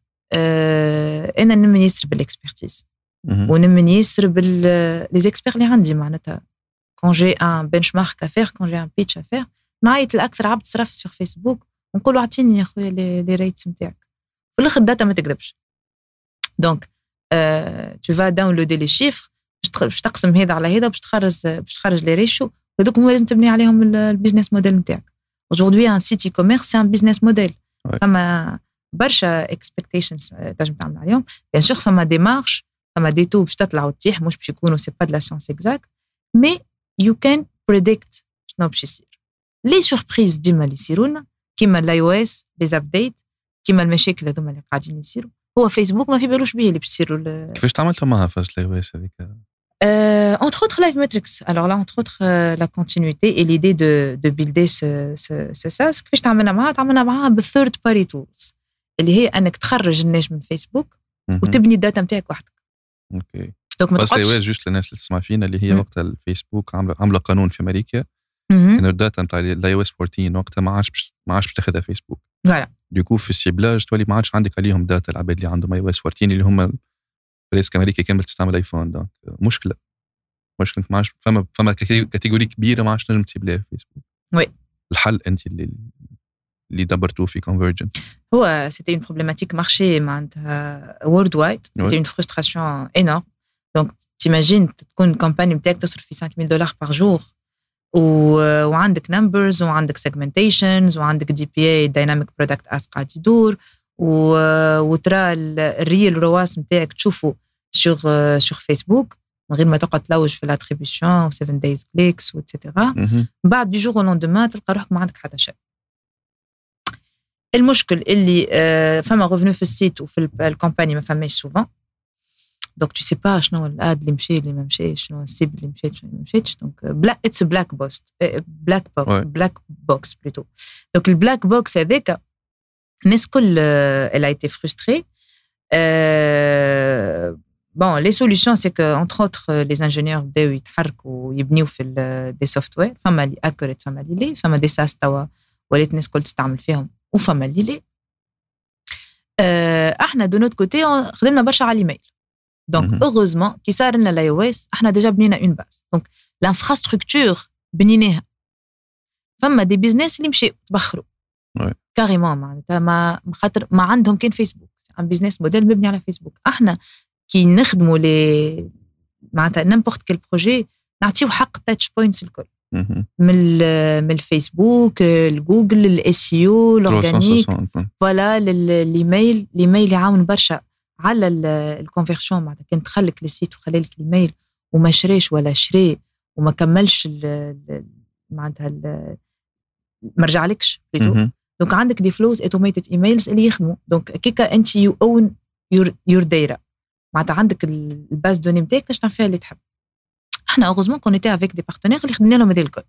انا نمني يسر بالاكسبرتيز ونمني يسر لي زيكسبير اللي عندي معناتها كون جي ان بنش مارك افير كون جي ان بيتش افير نعيط لاكثر عبد صرف سور فيسبوك ونقول له اعطيني يا خويا لي ريتس نتاعك في الاخر الداتا ما تكذبش دونك تو فا داونلودي لي شيفر باش تقسم هذا على هذا باش تخرج لي ريشيو هذوك هما لازم تبني عليهم البيزنس موديل نتاعك aujourd'hui un site e-commerce c'est un business model فما برشا expectations تنجم تعمل عليهم bien sûr فما démarche فما des taux باش تطلع وتطيح مش باش يكونوا c'est pas de la science exacte mais you can predict شنو باش يصير لي سوربريز ديما اللي يصيروا لنا كيما الاي او اس لي ابديت كيما المشاكل هذوما اللي قاعدين يصيروا هو فيسبوك ما في بالوش بيه اللي باش يصيروا كيفاش تعملتوا معها فاش الاي او اس هذيك entre autres Live Metrics. Alors là, entre autres, la continuité et l'idée de builder ce SaaS. كيفاش تعملنا معها بالthird party tools اللي هي انك تخرج النجم من فيسبوك وتبني الداتا نتاعك وحدك. اوكي. دونك ما تقعدش. بس جوست للناس اللي تسمع فينا اللي هي وقتها الفيسبوك عامله قانون في امريكا ان الداتا نتاع الاي او اس 14 وقتها ما عادش باش تاخذها فيسبوك. فوالا. ديكو في السيبلاج تولي ما عادش عندك عليهم داتا العباد اللي عندهم اي او اس 14 اللي هم بريسك امريكا كامل تستعمل ايفون دونك مشكله ما عادش فما كاتيجوري كبيره ما عادش نجم تسيب لها فيسبوك. وي الحل انت اللي دبرتوه في كونفرجنت هو سيتي اون بروبليماتيك مارشي معناتها وورلد وايد سيتي اون فرستراسيون انورم دونك تيماجين تكون كامباني نتاعك تصرف في $5,000 بار جور وعندك نمبرز وعندك سيجمنتيشنز وعندك دي بي اي دايناميك برودكت اس قاعد يدور وترى الريل رواس نتاعك تشوفه sur فيسبوك من غير ما تقعد تلوج في الاتريبيوشن و 7 days clicks واتسيتيرا بعد دي جور لوندومان تلقى روحك ما عندك حتى شيء. المشكل اللي فما ريفونو في السيت وفي الكامباني ما فماش سوفون دونك تو سي با شنو الاد اللي مشى اللي ما مشاش شنو السيب اللي مشات شنو ما مشاتش دونك بلا اتس بلاك بوكس بلوتو دونك البلاك بوكس هذاك الناس كل elle a été frustrée bon les solutions c'est que entre autres les ingénieurs بداو يتحركوا ويبنيو في دي سوفتوير فما اللي اكوريت فما اللي فما دي ساس توا ولات الناس كل تستعمل فيهم وفما اللي احنا دو نوت كوتي خدمنا برشا على الايميل دونك heureusement كي صار لنا الاي او اس احنا ديجا بنينا اون باز دونك لانفراستركتور بنيناها فما دي بيزنس اللي مشاو تبخروا كاريمون معناتها ما خاطر ما عندهم كان فيسبوك ان بيزنس موديل مبني على فيسبوك احنا كي نخدموا لي معناتها نيمبورت كيل بروجي نعطيو حق التاتش بوينتس الكل من الفيسبوك الجوجل الاس اي او الاورجانيك فوالا الايميل يعاون برشا على الكونفيرسيون معناتها كان تخلك السيت وخلالك الايميل وما شريش ولا شري وما كملش معناتها ما رجعلكش دونك عندك دي فلوز اوتوميتد ايميلز اللي يخدموا دونك كيكا انت يو اون يور دايره معناتها عندك الباز دوني نتاعك تشتغل فيها اللي تحب احنا اوغوزمون كون ايتي افيك دي بارتنير اللي خدمنا لهم هذا الكل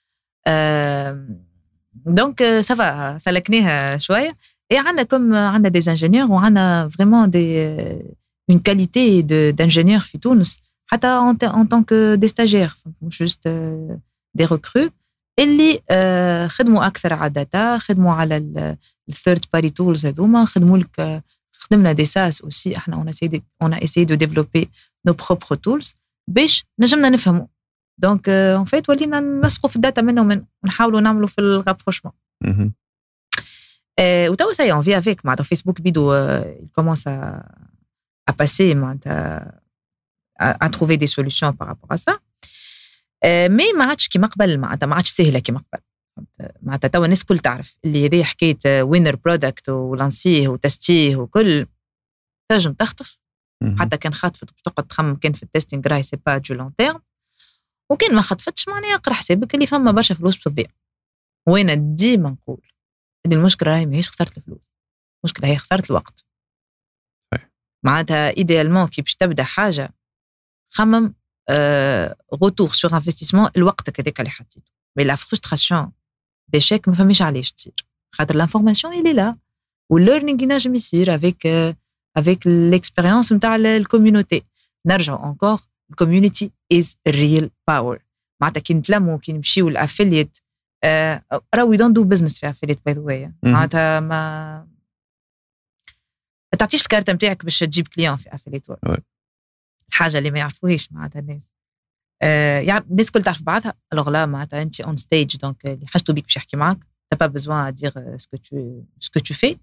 دونك سافا سلكناها شويه اي عندنا دي انجينيور وعندنا فريمون دي اون كاليتي دانجينيور في تونس حتى ان طونك دي ستاجير مش جوست دي ريكرو اللي خدموا اكثر على داتا خدموا على الثيرد باري تولز هذوما خدمنا دي ساس اوسي احنا اون اسيي دو ديفلوبي نو بروبر تولز باش نجمنا نفهموا دونك اون فيت ولينا نلصقوا في الداتا منهم ونحاولوا نعملوا في الرابروشمون وتوا ساي اون في افيك مع فيسبوك بيدو كومونس à passer à trouver des solutions par rapport à ça. Mais ما عادش كيما قبل معناتها ما عادش سهله كيما قبل. معناتها توا الناس كل تعرف اللي هذه حكايه وينر برودكت ولانسيه وتستيه وكل تنجم تخطف. حتى كان خاطفت باش تقعد تخمم كان في التستينغ راهي سي با دو لون تيرم، وكان ما خطفتش معناها اقرا حسابك اللي فما برشا فلوس بتضيع. وانا ديما نقول اللي المشكله راهي ماهيش خسرت الفلوس، المشكله هي خسرت الوقت. معناتها ايديالمون كي باش تبدا حاجه خمم غوتور سور انفستيسمون الوقت هذاك اللي حطيته. مي لا فرستراسيون ديشيك ما فماش علاش تصير، خاطر لانفورماسيون اللي لا والليرنينغ ينجم يصير avec l'expérience نتاع الكوميونيتي. نرجعوا انكور الكوميونيتي از ريل باور. معناتها كي نتلموا كي نمشيو الافيليت راهو وي دونت دو بزنس في افيليت باي ذا واي. معناتها ما تعطيش الكارت نتاعك باش تجيب كليون في افيليت وورك. الحاجه اللي ما يعرفوهاش معناتها الناس يعني الناس كل تعرف بعضها. الوغ لا معناتها انت اون ستيج دونك اللي حاجته بيك باش يحكي معاك t'as pas besoin à dire ce que tu fais.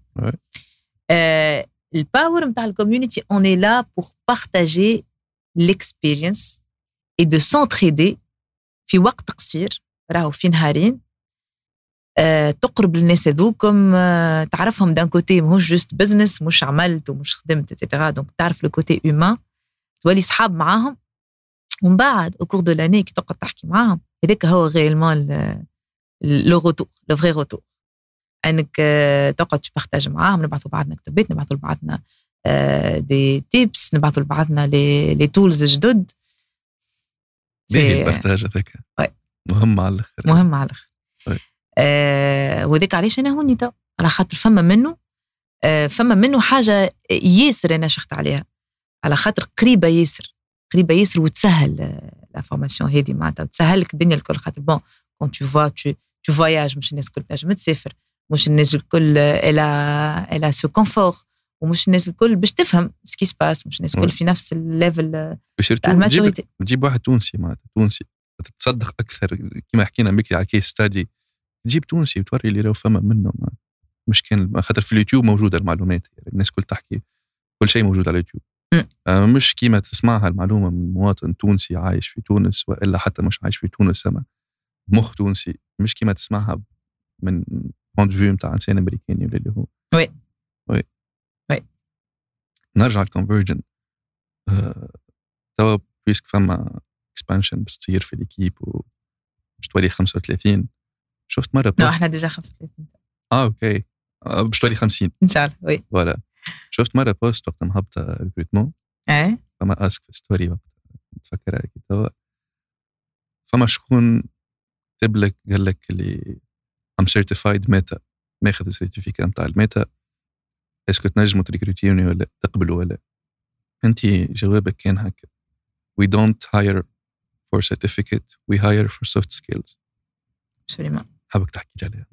Le power نتاع الكوميونيتي on est là pour partager l'expérience et de s'entraider في وقت قصير راهو في نهارين. تقرب للناس هذوكم تعرفهم دان كوتي ماهوش جوست بزنس، مش عملت ومش خدمت اتسيتيرا. دونك تعرف لو كوتي هيومان، تولي صحاب معاهم. ومن بعد او كور دو لاني كي تقعد تحكي معاهم هذاك هو غيرمون لو روتور، لو فري روتور. انك تقعد تبارطاج معاهم، نبعثوا بعضنا كتابات، نبعثوا لبعضنا دي تيبس، نبعثوا لبعضنا لي تولز جدد. باهي البارطاج هذاك مهم على الاخر، مهم على الاخر. وذاك علاش انا هوني تو على خاطر فما منه حاجه ياسر انا شخت عليها، على خاطر قريبه ياسر وتسهل لافورماسيون هذه. معناتها تسهل لك الدنيا الكل. خاطر بون كون تو فواياج مش الناس الكل تنجم تسافر، مش الناس الكل الا سو كونفور، ومش الناس الكل باش تفهم سكي سباس، مش الناس الكل في نفس الليفل تاع الماتوريتي. تجيب واحد تونسي معناتها تونسي تصدق اكثر كما حكينا بكري على كيس ستادي، تجيب تونسي وتوري اللي راهو فما منه. مش كان خاطر في اليوتيوب موجوده المعلومات، يعني الناس كل تحكي كل شيء موجود على اليوتيوب. مش كيما تسمعها المعلومه من مواطن تونسي عايش في تونس، والا حتى مش عايش في تونس سما مخ تونسي، مش كيما تسمعها من بوينت فيو نتاع انسان امريكاني ولا اللي هو. وي نرجع الكونفرجن. توا بيسك فما اكسبانشن باش تصير في ليكيب وباش تولي 35. شفت مره لا احنا ديجا 35. اوكي باش تولي 50 ان شاء الله. وي فوالا. شفت مره بوست وقت مهبطه ريكروتمون، فما اسك في ستوري وقت تفكرها كي توا، فما شكون كتب لك قال لك اللي ام سيرتيفايد ميتا، ماخذ السيرتيفيكات نتاع الميتا، اسكو تنجموا تريكروتيوني ولا تقبلوا ولا؟ انت جوابك كان هكا: we don't hire for certificate, we hire for soft skills. absolument. حابك تحكي لي عليها.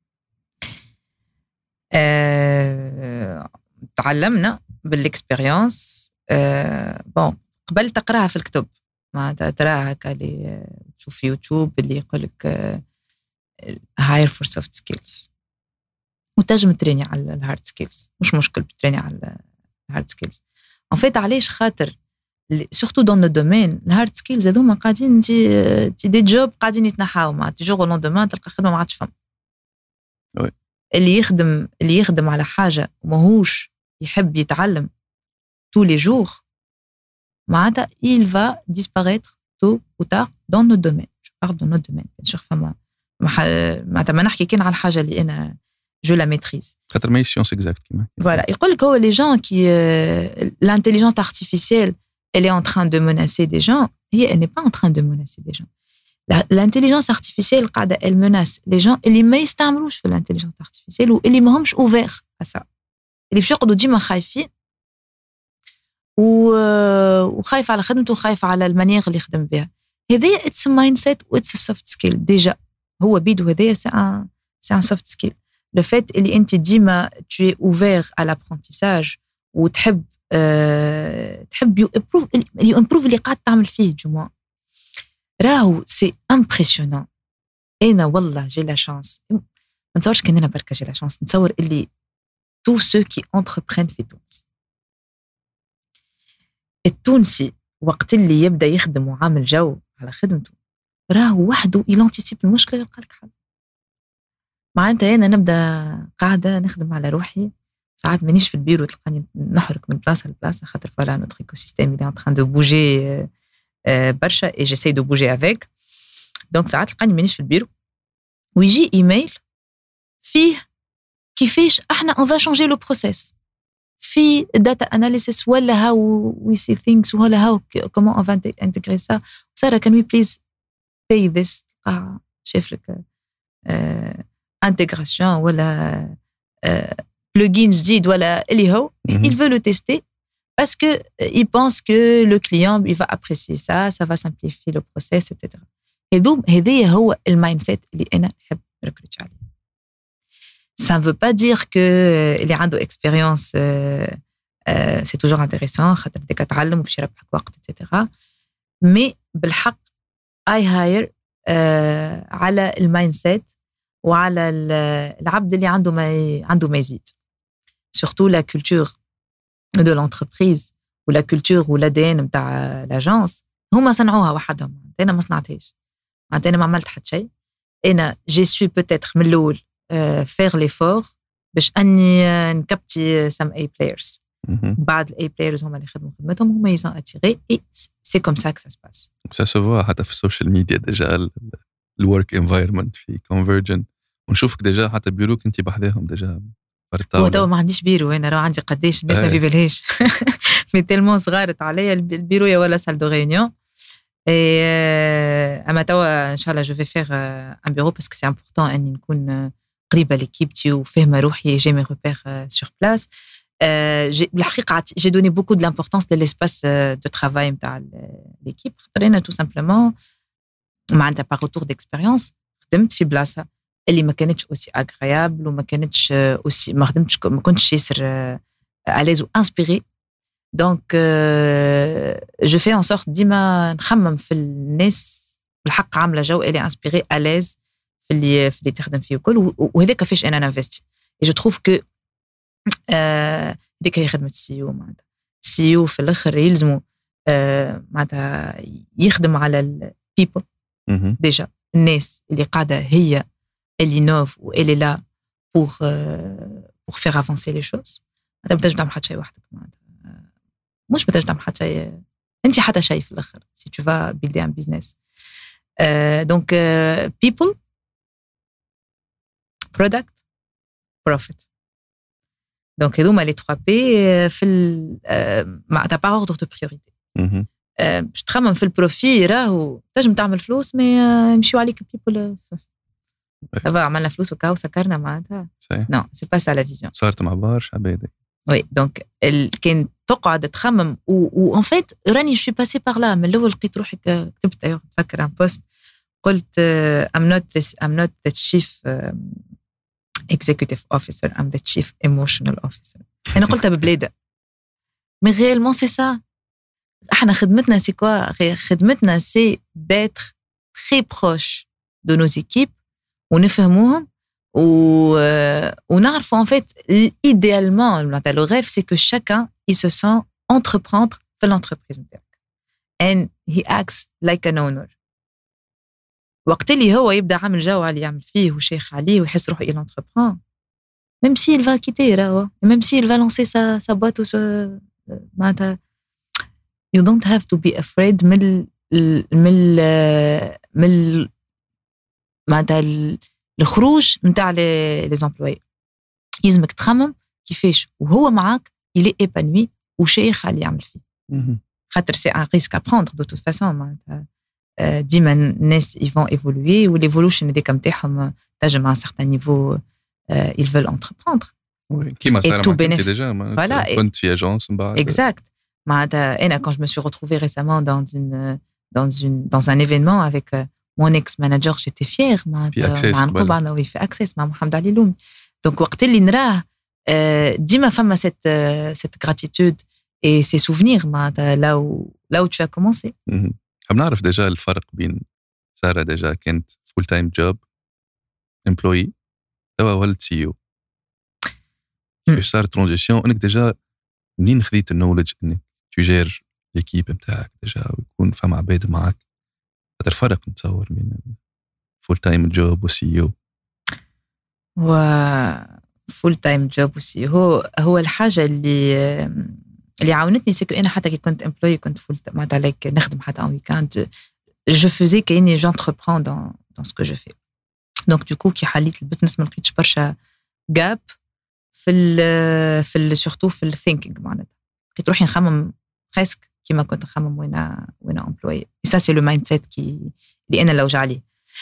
تعلمنا بالاكسبيرينس. بون قبل تقراها في الكتب، ما تراها هكا اللي تشوف في يوتيوب اللي يقول لك hire for soft skills، وتنجم تريني على الهارد سكيلز، مش مشكل تريني على الهارد سكيلز. ان فيت علاش؟ خاطر سورتو دون نو دومين الهارد سكيلز هذوما قاعدين دي جوب قاعدين يتنحاو مع تيجور لون دومان، تلقى خدمه ما عادش فما. اللي يخدم على حاجه وماهوش يحب يتعلم tous les jours معناتها il va disparaître tôt ou tard dans notre domaine. je parle de notre domaine bien sûr. فما معناتها ما نحكي كان على الحاجه اللي انا جو لا ميتريز، خاطر ما هي سيونس اكزاكت كيما فوالا. يقول لك هو لي جون كي l'intelligence artificielle elle est en train de menacer des gens. هي elle n'est pas en train de menacer des gens. l'intelligence artificielle قاعده elle menace les gens اللي ما يستعملوش في l'intelligence artificielle واللي ما همش اوفير à ça، اللي باش يقعدوا ديما خايفين وخايف على خدمته وخايف على المانيير اللي يخدم بها. هذه اتس مايند سيت واتس سوفت سكيل ديجا. هو بيدو هذايا سي ان سوفت سكيل. لو فات اللي انت ديما tu es ouvert à l'apprentissage وتحب تحب يو امبروف اللي قاعد تعمل فيه جمعة، راهو سي امبرسيونون. انا والله جي لا شانس، ما نتصورش كان انا بركه جي لا شانس، نتصور اللي تو سو كي انتربرين في تونس التونسي وقت اللي يبدا يخدم وعامل جو على خدمته راه وحده يلانتيسيب المشكله يلقى لك حل. معناتها انا نبدا قاعده نخدم على روحي ساعات مانيش في البيرو تلقاني نحرك من بلاصه لبلاصه خاطر فوالا نوتر ايكو سيستيم اللي ان تران دو بوجي برشا اي جيساي دو بوجي افيك. دونك ساعات تلقاني مانيش في البيرو ويجي ايميل فيه كيفاش احنا اون فا شانجي لو بروسيس في داتا اناليسيس ولا هاو وي سي ثينكس ولا هاو كومون اون فا انتغري سا. ساره كان وي بليز باي ذس شايف لك انتغراسيون ولا بلوجين جديد ولا اللي هو il veut le tester parce que il pense que le client il va apprécier ça va simplifier le process etc. هذا هو المايند سيت اللي انا نحب نركز عليه. Ça ne veut pas dire que اللي عنده expérience c'est toujours intéressant خاطر بدك تتعلم وباش يربحك وقت etc. mais بالحق I hire على المايند سيت وعلى العبد اللي عنده ما يزيد. surtout la culture de l'entreprise ou la culture ou l'ADN نتاع l'agence هما صنعوها وحدهم. انا ما صنعتهاش. انا ما عملت حتى شيء. انا جي سو peut-être من الاول faire l'effort باش اني نكبتي some A players. بعد ال A players هما اللي خدموا خدمتهم هما ils ont attiré et c'est comme ça que ça se passe. ça se voit حتى في السوشيال ميديا ديجا الورك انفايرمنت في كونفرجن ونشوفك ديجا حتى بيروك انت بحذاهم ديجا. هو تو ما عنديش بيرو انا راه عندي قداش الناس ما في بالهاش مي تيلمون صغارت عليا البيرو يا ولا سال دو ريونيون. اما توا ان شاء الله جو في فيغ ان بيرو باسكو سي امبورطون اني نكون قريبه ليكيبتي وفاهمه روحي جي مي روبير سور بلاس. بالحقيقه جي دوني بوكو دو لامبورطونس دو ليسباس دو ترافاي نتاع ليكيب خاطر انا تو سامبلومون معناتها باغ روتور ديكسبيريونس خدمت في بلاصه اللي ما كانتش اوسي اغريابل وما كانتش اوسي ما كنتش ياسر اليز و انسبيري. دونك جو في ان سورت ديما نخمم في الناس بالحق عامله جو اللي انسبيري اليز في اللي تخدم فيه وكل وهذاك كيفاش انا نانفستي. جو تروف كو هذيك هي خدمه السي او. معناتها السي او في الاخر يلزموا معناتها يخدم على البيبل ديجا الناس اللي قاعده هي elle innove ou elle est là pour faire avancer les choses. انت ما تقدرش تعمل حتى شيء وحدك. مش ما تقدرش تعمل حتى شيء انت حتى شيء في الاخر si tu vas builder un business. donc people product profit. donc هذوما لي 3 بي في معناتها با اوردر دو بريوريتي. باش تخمم في البروفي راهو تنجم تعمل فلوس مي يمشيو عليك بيبل دابا عملنا فلوس وكاو سكرنا معناتها نو سي با سا لا فيزيون. صارت مع برشا عباد. وي دونك كان تقعد تخمم و ان فيت راني شو باسي بار لا من الاول لقيت روحي كتبت تفكر ان بوست قلت I'm not the chief executive officer I'm the chief emotional officer. انا قلتها ببلاده مي غيالمون سي سا. احنا خدمتنا سي كوا خدمتنا سي d'être très proche de nos équipes ونفهموهم ونعرفوا en fait idéalement le rêve c'est que chacun il se sent entreprendre في l'entreprise نتاعك and he acts like an owner. وقت اللي هو يبدا عامل جو على يعمل فيه وشيخ عليه ويحس روحه il entreprend même si il va quitter راهو même si il va lancer sa boîte ou معناتها you don't have to be afraid من معناتها الخروج نتاع لي زامبلوي. يلزمك تخمم كيفاش وهو معاك يلي ايبانوي وشيخ على يعمل فيه خاطر سي ان ريسك ا بروندر دو توت فاسون. معناتها ديما الناس يفون ايفولوي والايفولوشن هذاك نتاعهم تنجم ان سارتان نيفو ils veulent entreprendre. كيما صار معك ديجا كنت في اجونس من بعد exact. معناتها انا quand je me suis retrouvée récemment dans un événement avec mon ex-manager, j'étais fière. مع في Access مع محمد علي لومي. donc وقت اللي نراه ديما فما cette gratitude et ces souvenirs معناتها là où tu as commencé. حاب نعرف ديجا الفرق بين سارة ديجا كانت full time job employee توا ولد CEO. كيفاش صار ترانزيسيون انك ديجا منين خذيت النولج انك تجير ليكيب نتاعك ديجا ويكون فما عباد معك. هذا الفرق نتصور بين فول تايم جوب وسي او. و فول تايم جوب وسي هو الحاجه اللي عاونتني سكو انا حتى كي كنت امبلوي كنت فول معناتها عليك نخدم حتى ان ويكاند جو فوزي كاني جونتربرون دون سكو جو في. دونك دوكو كي حليت البزنس ما لقيتش برشا جاب في سورتو في الثينكينغ معناتها لقيت روحي نخمم بريسك كيما كنت نخمم وين امبلوي. سا سي لو مايند سيت اللي انا لوج عليه.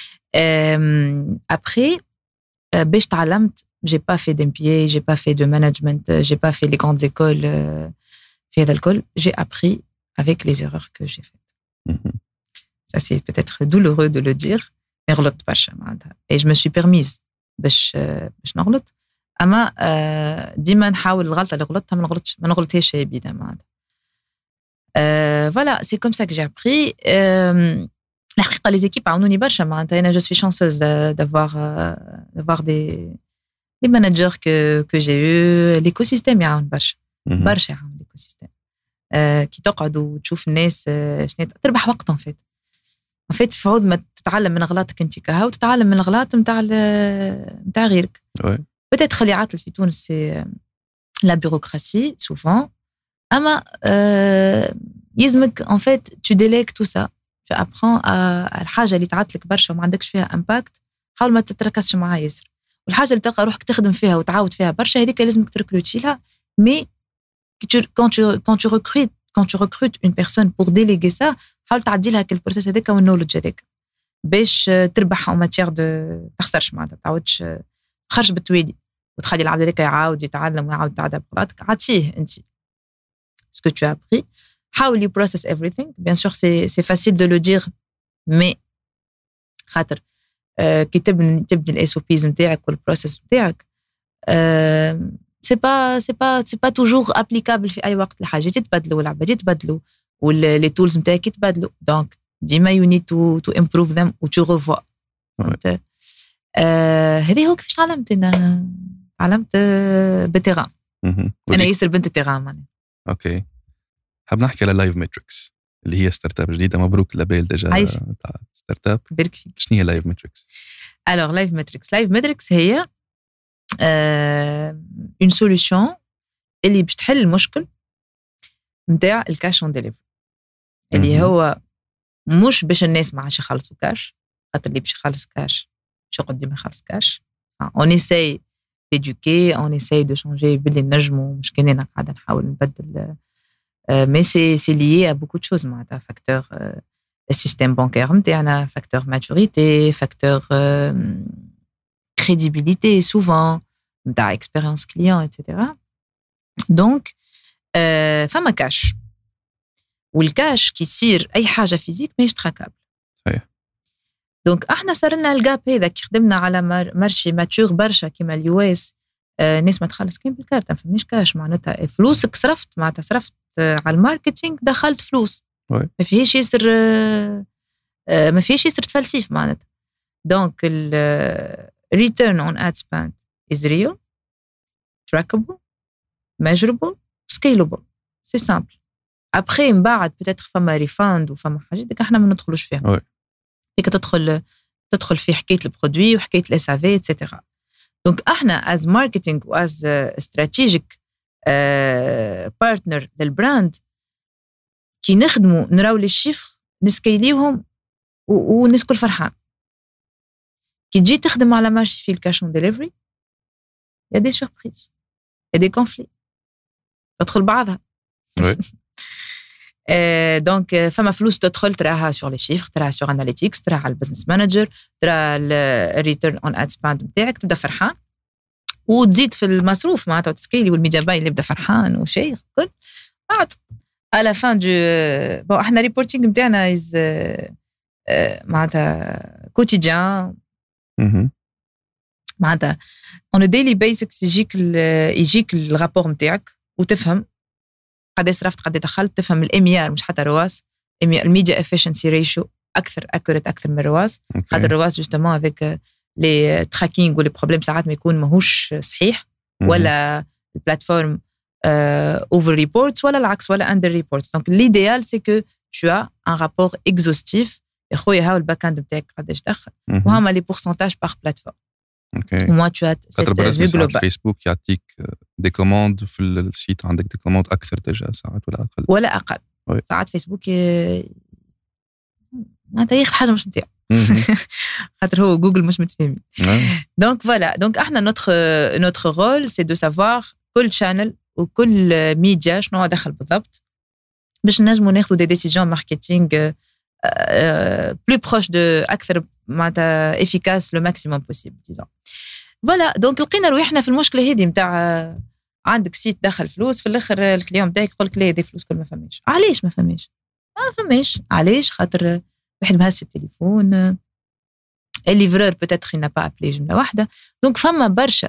ابري باش تعلمت j'ai pas fait d'MBA, j'ai pas fait de management, j'ai pas fait les grandes écoles في هذا الكل. j'ai appris avec les erreurs que j'ai faites. Ça c'est peut-être douloureux de le dire mais غلطت برشا معناتها et je me suis permise باش نغلط اما ديما نحاول الغلطه اللي غلطتها ما نغلطهاش ابدا معناتها. voilà c'est comme ça que j'ai appris. الحقيقه les équipes عاونوني برشا معناتها انا je suis chanceuse d'avoir les managers que j'ai eu. l'écosystème يعاون برشا يعاون l'écosystème. كي تقعد وتشوف الناس شنو تربح وقت en fait في عوض ما تتعلم من غلطك انت كهو وتتعلم من الغلط نتاع غيرك. peut-être اللي عاطل في تونس سي لا بيروقراسي souvent اما يلزمك en fait tu délègues tout ça. tu apprends الحاجه اللي تعطلك برشا وما عندكش فيها امباكت حاول ما تتركزش معها ياسر. والحاجه اللي تلقى روحك تخدم فيها وتعاود فيها برشا هذيك لازمك تركروتي لها. مي quand tu recrutes une personne pour déléguer ça حاول تعدي لها كل البروسيس هذاك والنولج هذاك باش تربح او ماتير دو تخسرش معناتها تعاودش خرج بالتوالي وتخلي العبد هذاك يعاود يتعلم ويعاود يتعدى بغلطك. عطيه انت ce que tu as appris. حاول process everything. bien sûr c'est facile de le dire mais خاطر كي تبني الاس او بيز نتاعك والبروسيس نتاعك c'est pas toujours applicable في اي وقت. الحاجات يتبدلوا والعباد يتبدلوا واللي تولز نتاعك يتبدلوا دونك ديما you need to improve them و tu revois. هذه هو كيفاش تعلمت بالتيران. انا ياسر بنت التيران معناها. اوكي حاب نحكي على لايف ماتريكس اللي هي ستارت اب جديده. مبروك لابيل ديجا تاع ستارت اب. بارك فيك. شنو هي لايف ماتريكس؟ alors لايف ماتريكس هي une solution اللي باش تحل المشكل نتاع الكاش اون ديليفري اللي هو مش باش الناس ما عادش يخلصوا كاش خاطر اللي باش يخلص كاش باش يقعد ديما يخلص كاش. on essaye d'éduquer, on essaye de changer باللي نجموا مش كاننا قاعده نحاول نبدل mais c'est lié à beaucoup de choses معناتها facteur السيستم بانكير نتاعنا facteur maturité facteur crédibilité souvent نتاع expérience client etc. donc فما كاش والكاش كي يصير اي حاجه فيزيك ماهيش تراكابل. دونك احنا صار لنا الجاب هذا كي خدمنا على مارشي ماتور برشا كيما اليو اس. الناس ما تخلص كاين بالكارت ما فماش كاش معناتها فلوسك صرفت معناتها صرفت على الماركتينغ دخلت فلوس ما فيهاش ياسر تفلسيف معناتها. دونك return on ad spend is real, trackable, measurable, scalable. c'est simple. après من بعد peut-être فما ريفاند وفما حاجات ديك احنا ما ندخلوش فيها. ديك تدخل في حكايه البرودوي وحكايه الاس ا في اتسيتيرا. دونك احنا as marketing و as strategic partner للبراند كي نخدموا نراو لي شيفر نسكيليهم والناس كل فرحان. كي تجي تخدم على مارشي في الكاش اون ديليفري يا دي سوربريز يا دي كونفلي تدخل بعضها. دونك فما فلوس تدخل تراها سور لي شيفر تراها سور اناليتيكس تراها على البزنس مانجر تراها الريتيرن اون اد سباند نتاعك تبدا فرحان وتزيد في المصروف معناتها وتسكيلي والميديا باي اللي يبدا فرحان وشيخ كل بعد على فان دو بون احنا ريبورتينغ نتاعنا از معناتها كوتيديان معناتها اون ديلي بيسكس يجيك الرابور نتاعك وتفهم قد صرفت قد دخلت تفهم الام ار مش حتى رواس الميديا افيشنسي ريشيو اكثر اكوريت اكثر من رواس. خاطر رواس جوستومون افيك لي تراكينغ ولي بروبليم ساعات ما يكون ماهوش صحيح ولا البلاتفورم over reports ولا العكس ولا under reports. Donc l'idéal c'est que tu as un rapport exhaustif. يا خويا هاو الباك اند بتاعك قداش دخل وهما لي pourcentages par plateforme. اوكي. وما tu as cette vue globale. فيسبوك يعطيك دي كوموند في السيت عندك دي كوموند اكثر ديجا ساعات ولا اقل. ساعات فيسبوك معناتها ياخذ حاجه مش نتاعو خاطر هو جوجل مش متفاهمين. دونك فوالا دونك احنا نوتر رول سي دو سافوار كل شانل وكل ميديا شنو دخل بالضبط باش نجموا ناخذوا دي ديسيجن ماركتينغ plus proche de اكثر معناتها efficace le maximum possible disons. فوالا دونك لقينا روحنا في المشكله هذه نتاع عندك سيت دخل فلوس في الاخر الكليون نتاعك يقول لك لا دي فلوس كل ما فماش. علاش ما فماش؟ علاش؟ خاطر واحد مهز التليفون الليفرور بوتيتر il n'a pas appelé جمله واحده. دونك فما برشا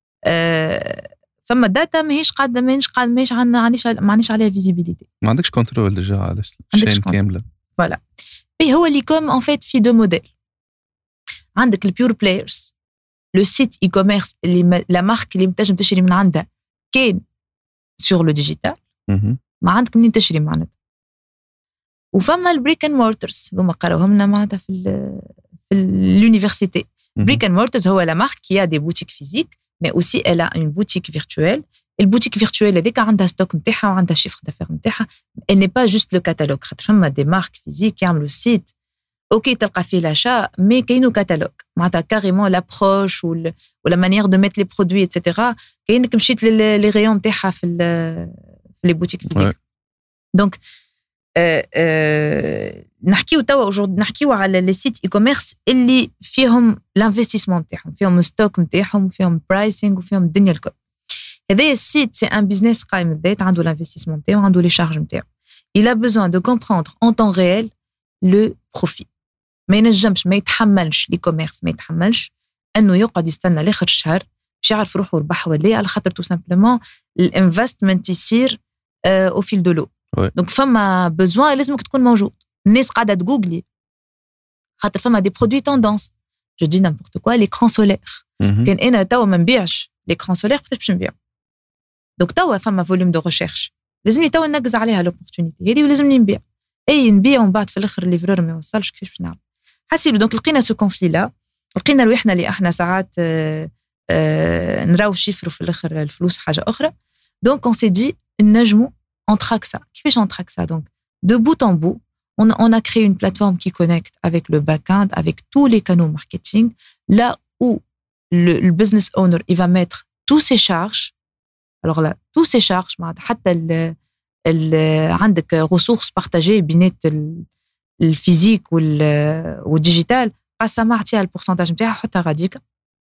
فما داتا ماهيش قاعده ماهيش معنيش عليها فيزيبيليتي. ما عندكش كنترول ديجا على الشين كامله. فوالا بي هو اللي كوم ان فيت في دو موديل. عندك البيور بلايرز لو سيت اي كوميرس اللي لا مارك اللي تنجم تشري من عندها كاين سور لو ديجيتال ما عندك منين تشري معناتها. وفما البريك اند مورترز هما قراوهم لنا معناتها في l'université. بريك اند مورترز هو لا مارك كي ا دي بوتيك فيزيك مي اوسي الا اون بوتيك فيرتوال. البوتيك فيرتوال هذيك عندها ستوك نتاعها وعندها شيفر دافير نتاعها. elle n'est pas juste le catalogue. خاطر فما دي مارك فيزيك يعملوا سيت اوكي تلقى فيه لاشا مي كاينو كاتالوج معناتها كاريمون لابروش ولا مانيير دو ميت لي برودوي اتسيتيرا. كاينك مشيت لي ريون نتاعها في لي بوتيك فيزيك. دونك نحكيو توا نحكيو على لي سيت اي كوميرس اللي فيهم الانفستيسمون نتاعهم فيهم ستوك نتاعهم وفيهم برايسينغ وفيهم الدنيا الكل. هذا السيت سي ان بيزنس قائم بذات عنده الانفستيسمون نتاعو عنده لي شارج نتاعو. il a besoin de comprendre en temps réel le profit. ما ينجمش ما يتحملش لي كوميرس ما يتحملش انه يقعد يستنى لاخر الشهر باش يعرف روحه ربح ولا على خاطر تو سامبلومون الانفستمنت يصير او فيل دو لو. دونك فما بوزوان لازمك تكون موجود. الناس قاعده تجوجلي خاطر فما دي برودوي توندونس جو دي نامبورت كوا ليكران سولير. كان انا توا ما نبيعش ليكران سولير كيفاش باش نبيع؟ دونك توا فما فوليوم دو ريشيرش لازمني توا ننقز عليها لوبورتونيتي هذه ولازمني نبيع. نبيع ومن بعد في الاخر الليفرور ما يوصلش كيفاش باش نعمل حسيب. دونك لقينا سو كونفلي لا لقينا روحنا اللي احنا ساعات نراو شيفرو في الاخر الفلوس حاجه اخرى. دونك اون سي دي نجمو on traque ça. كيفاش on traque ça? Donc de bout en bout on a créé une plateforme qui connecte avec le back-end avec tous les canaux marketing là où le business owner il va mettre tous ses charges. alors là tous ses charges حتى عندك ressources partagées بين الفيزيك والديجيتال قسمها عطيها البورسنتاج نتاعها حطها غاديك.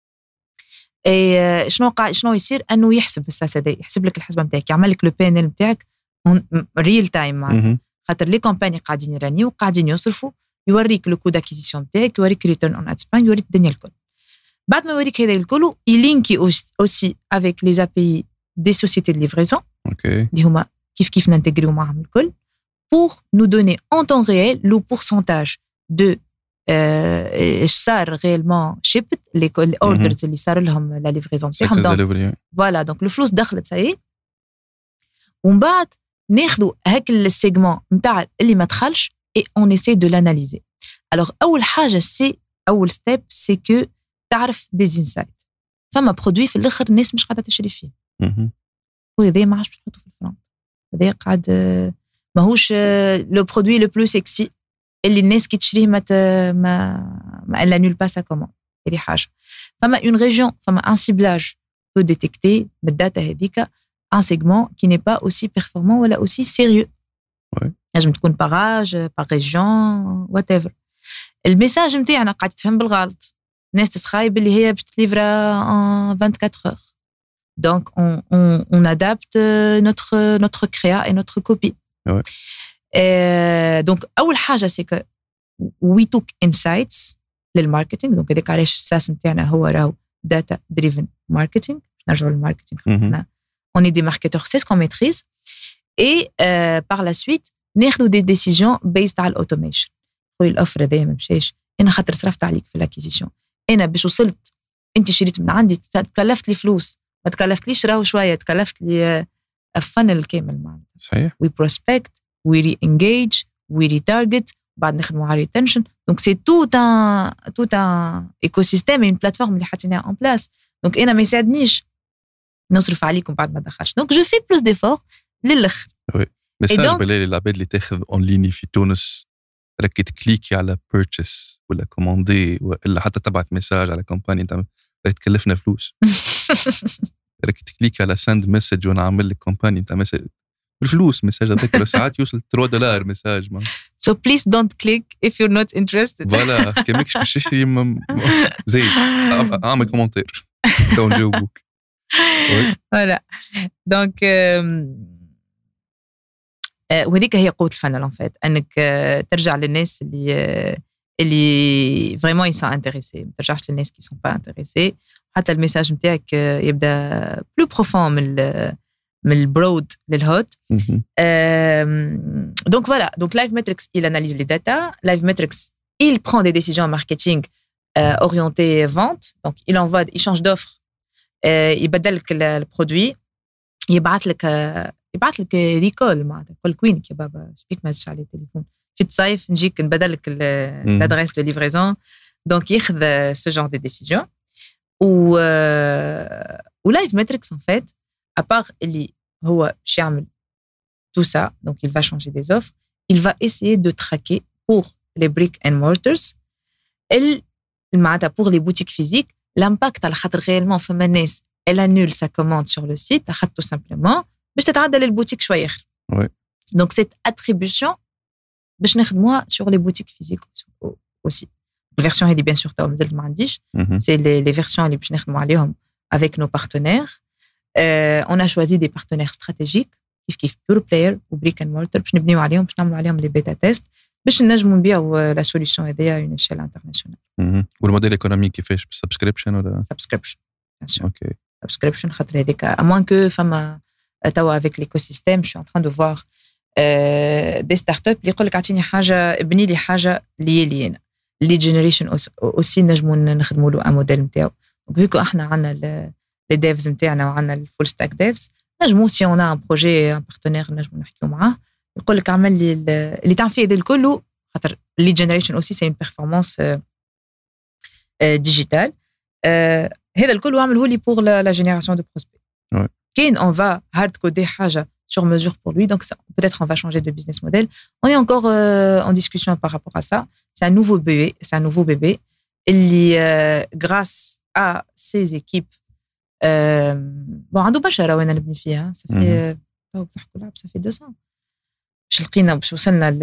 شنو يصير انه يحسب الساسه يحسب لك الحسبه نتاعك يعمل لك لو بي ان ال نتاعك ريل تايم معناتها خاطر لي كومباني قاعدين يرانيو وقاعدين يصرفوا يوريك لو كو داكيزيسيون نتاعك يوريك ريتيرن اون اد سباند يوريك الدنيا الكل. بعد ما يوريك هذا الكل يلينكي اوسي افيك لي ابي دي سوسيتي دو ليفريزون اللي هما كيف ننتجريو معهم الكل pour nous donner en temps réel le pourcentage de صار réellement shipped les orders اللي صار لهم لا ليفريزون تاعهم. فوالا دونك الفلوس دخلت ساي ومن بعد ناخذوا هاك السيجمون نتاع اللي ما دخلش et on essaie de l'analyser. alors اول حاجه سي اول ستيب سي كو تعرف دي انسايت. فما برودوي في الاخر الناس مش قاعده تشري فيه وهذا ما عادش باش نحطه في الفرن. هذا قاعد ماهوش لو برودوي لو بلو سكسي اللي الناس كي تشريه ما الا نول با سا كومون. هذه حاجه. فما اون ريجيون فما ان سيبلاج بو ديتيكتي بالداتا هذيك un segment qui n'est pas aussi performant ou aussi sérieux. نجم تكون باراج باغ ريجيون وات ايفر. الميساج نتاعنا قاعد تفهم بالغلط. الناس تسخايب اللي هي باش تليفرا 24 heures. Donc on adapte notre créa et notre copie. Donc اول حاجه c'est que we took insights للماركتينغ. دونك هذاك علاش الساس نتاعنا هو راهو data driven marketing. نرجعوا للماركتينغ. On est des marketeurs, c'est ce qu'on maîtrise. Et par la suite, ناخذوا des décisions based على l'automation. خويا الأوفر هذايا ما مشاش. أنا خاطر صرفت عليك في l'acquisition. أنا باش وصلت أنت شريت من عندي تكلفت لي فلوس. ما تكلفتليش راهو شوية تكلفت لي funnel كامل معناتها. صحيح. We prospect, we re-engage, we retarget, بعد نخدموا على retention. Donc c'est tout un écosystème et une plateforme اللي حطيناها en place. Donc أنا ما يساعدنيش نصرف عليكم بعد ما دخلش. Donc je fais plus d'efforts للآخر. Oui. ميساج بالليل للعباد اللي تاخذ اون ليني في تونس راكي تكليكي على بيرتشيس ولا كوموندي ولا حتى تبعت ميساج على كومباني انت راك تكلفنا فلوس. راكي تكليكي على سند مسج وانا عامل لك كومباني انت مسج بالفلوس ميساج هذاك ساعات يوصل $3 ميساج ما. So please don't click if you're not interested. فوالا كماكش باش تشري زي اعمل كومنتير تو نجاوبوك. فوالا دونك وهذيك هي قوة الفنل en fait انك ترجع للناس اللي vraiment ils sont intéressés. ما ترجعش للناس qui sont pas intéressés. حتى الميساج نتاعك يبدا plus profond من البرود للهوت. Donc voilà, donc LiveMetrics il analyse les data, LiveMetrics il prend des décisions marketing orientées vente, donc il change d'offre, يبدل لك البرودوي, يبعث لك ريكول معناتها يقول لك وينك يا بابا شبيك ما هزش على التليفون في الصيف نجيك نبدل لك l'adresse de livraison. Donc ياخذ ce genre de décision. و LiveMetrics en fait à part اللي هو باش يعمل tout ça, donc il va changer des offres, il va essayer de traquer pour les brick and mortars pour les boutiques physiques l'impact على خاطر réellement فما ناس elle annule sa commande sur le site tout simplement باش تتعدل البوتيك شويه اخر. Oui. Donc cette attribution باش نخدموها sur les boutiques physiques aussi. الفيرسيون هذه bien sûr تاو مازلت ما عنديش. C'est les versions اللي باش نخدموا عليهم avec nos partenaires. On a choisi des partenaires stratégiques كيف Pure Player و Brick and Mortar باش نبنيو عليهم باش نعملوا عليهم لي بيتا تيست باش نجموا نبيعوا لا سوليوشن هذيا اون ايشيل انترناسيونال. والموديل ايكونومي كيفاش بالسبسكريبشن ولا سبسكريبشن؟ اوكي سبسكريبشن خاطر هذيك à moins que فما توا avec l'écosystème je suis en train de voir des startups اللي يقول لك اعطيني حاجه ابني لي حاجه لي انا لي جينيريشن اوسي نجموا نخدموا له موديل نتاعو. فيكو احنا عندنا لي ديفز نتاعنا وعندنا الفول ستاك ديفز نجموا سي اون ان بروجي ان بارتنير نجموا نحكيو معاه يقول لك اعمل لي اللي تعمل فيه هذا الكل خاطر لي جينيريشن اوسي سي اون بيرفورمانس ديجيتال. هذا الكل عمله لي بور لا جينيراسيون دو بروسبي. كاين اون فا هارد كودي حاجه sur mesure pour lui, donc peut-être on va changer de business model. On est encore en discussion par rapport à ça. C'est un nouveau bébé. Grâce à ses équipes, bon, عنده برشا رانا نبني فيها. Ça fait 2 ans. باش لقينا باش وصلنا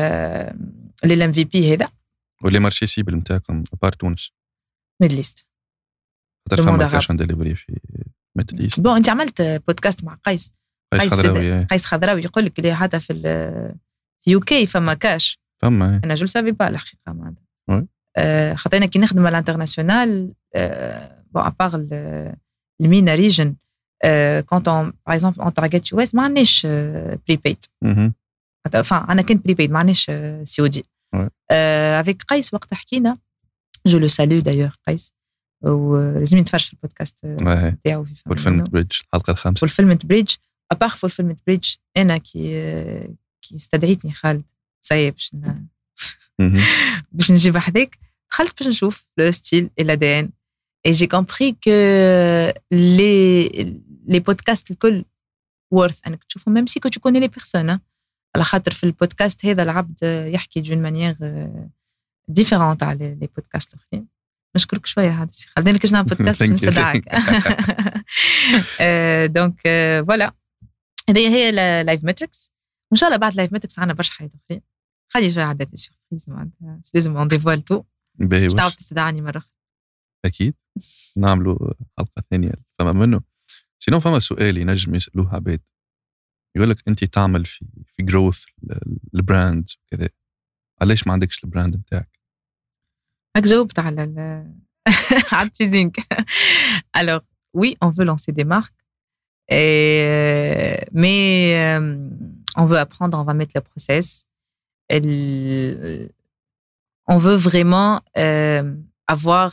لل MVP هذا. واللي مارشي سيبل نتاعكم بار تونس. ميدل ايست. خاطر فما كاش عند ديليفري في ميدل ايست. بون انت عملت بودكاست مع قيس خضراوي يقول لك اللي حتى في يوكي فما كاش فما انا جو سافي با الحقيقه معناتها خاطرنا كي نخدم على الانترناسيونال بون ابار المينا ريجن كونت اون باغ اكزومبل اون تارجت يو اس ما عندناش بريبيد انا كنت بريبيد ما عندناش سي او دي افيك قيس وقت حكينا جو لو سالو دايور قيس ولازم نتفرج في البودكاست تاعو في فولفيلمنت بريدج الحلقه الخامسه فولفيلمنت بريدج ابار فولفيلمنت بريدج انا كي استدعيتني خالد صايب باش نجيب حذاك دخلت باش نشوف لو ستيل اي لا دي ان اي جي كومبري كو لي بودكاست الكل worth انك تشوفهم ميم سي كو تو كوني لي بيرسون على خاطر في البودكاست هذا العبد يحكي دون مانيير ديفيرونت على لي بودكاست الاخرين. نشكرك شويه هذا السي خالد انا كنت نعمل بودكاست باش نصدعك. دونك فوالا هذه هي لايف ماتريكس وان شاء الله بعد لايف ماتريكس عندنا برشا حاجات اخرين. خلي شويه عندها دي سيربريز معناتها مش لازم اون ديفوال تو باش تعاود تستدعاني مره اخرى. اكيد نعملوا حلقه ثانيه فما منه. سينو فما سؤال ينجم يسالوه عباد يقول لك انت تعمل في جروث البراند كذا علاش ما عندكش البراند نتاعك؟ هاك جاوبت على على التيزينغ. alors oui on veut lancer des marques mais on veut apprendre, on va mettre le process. On veut vraiment avoir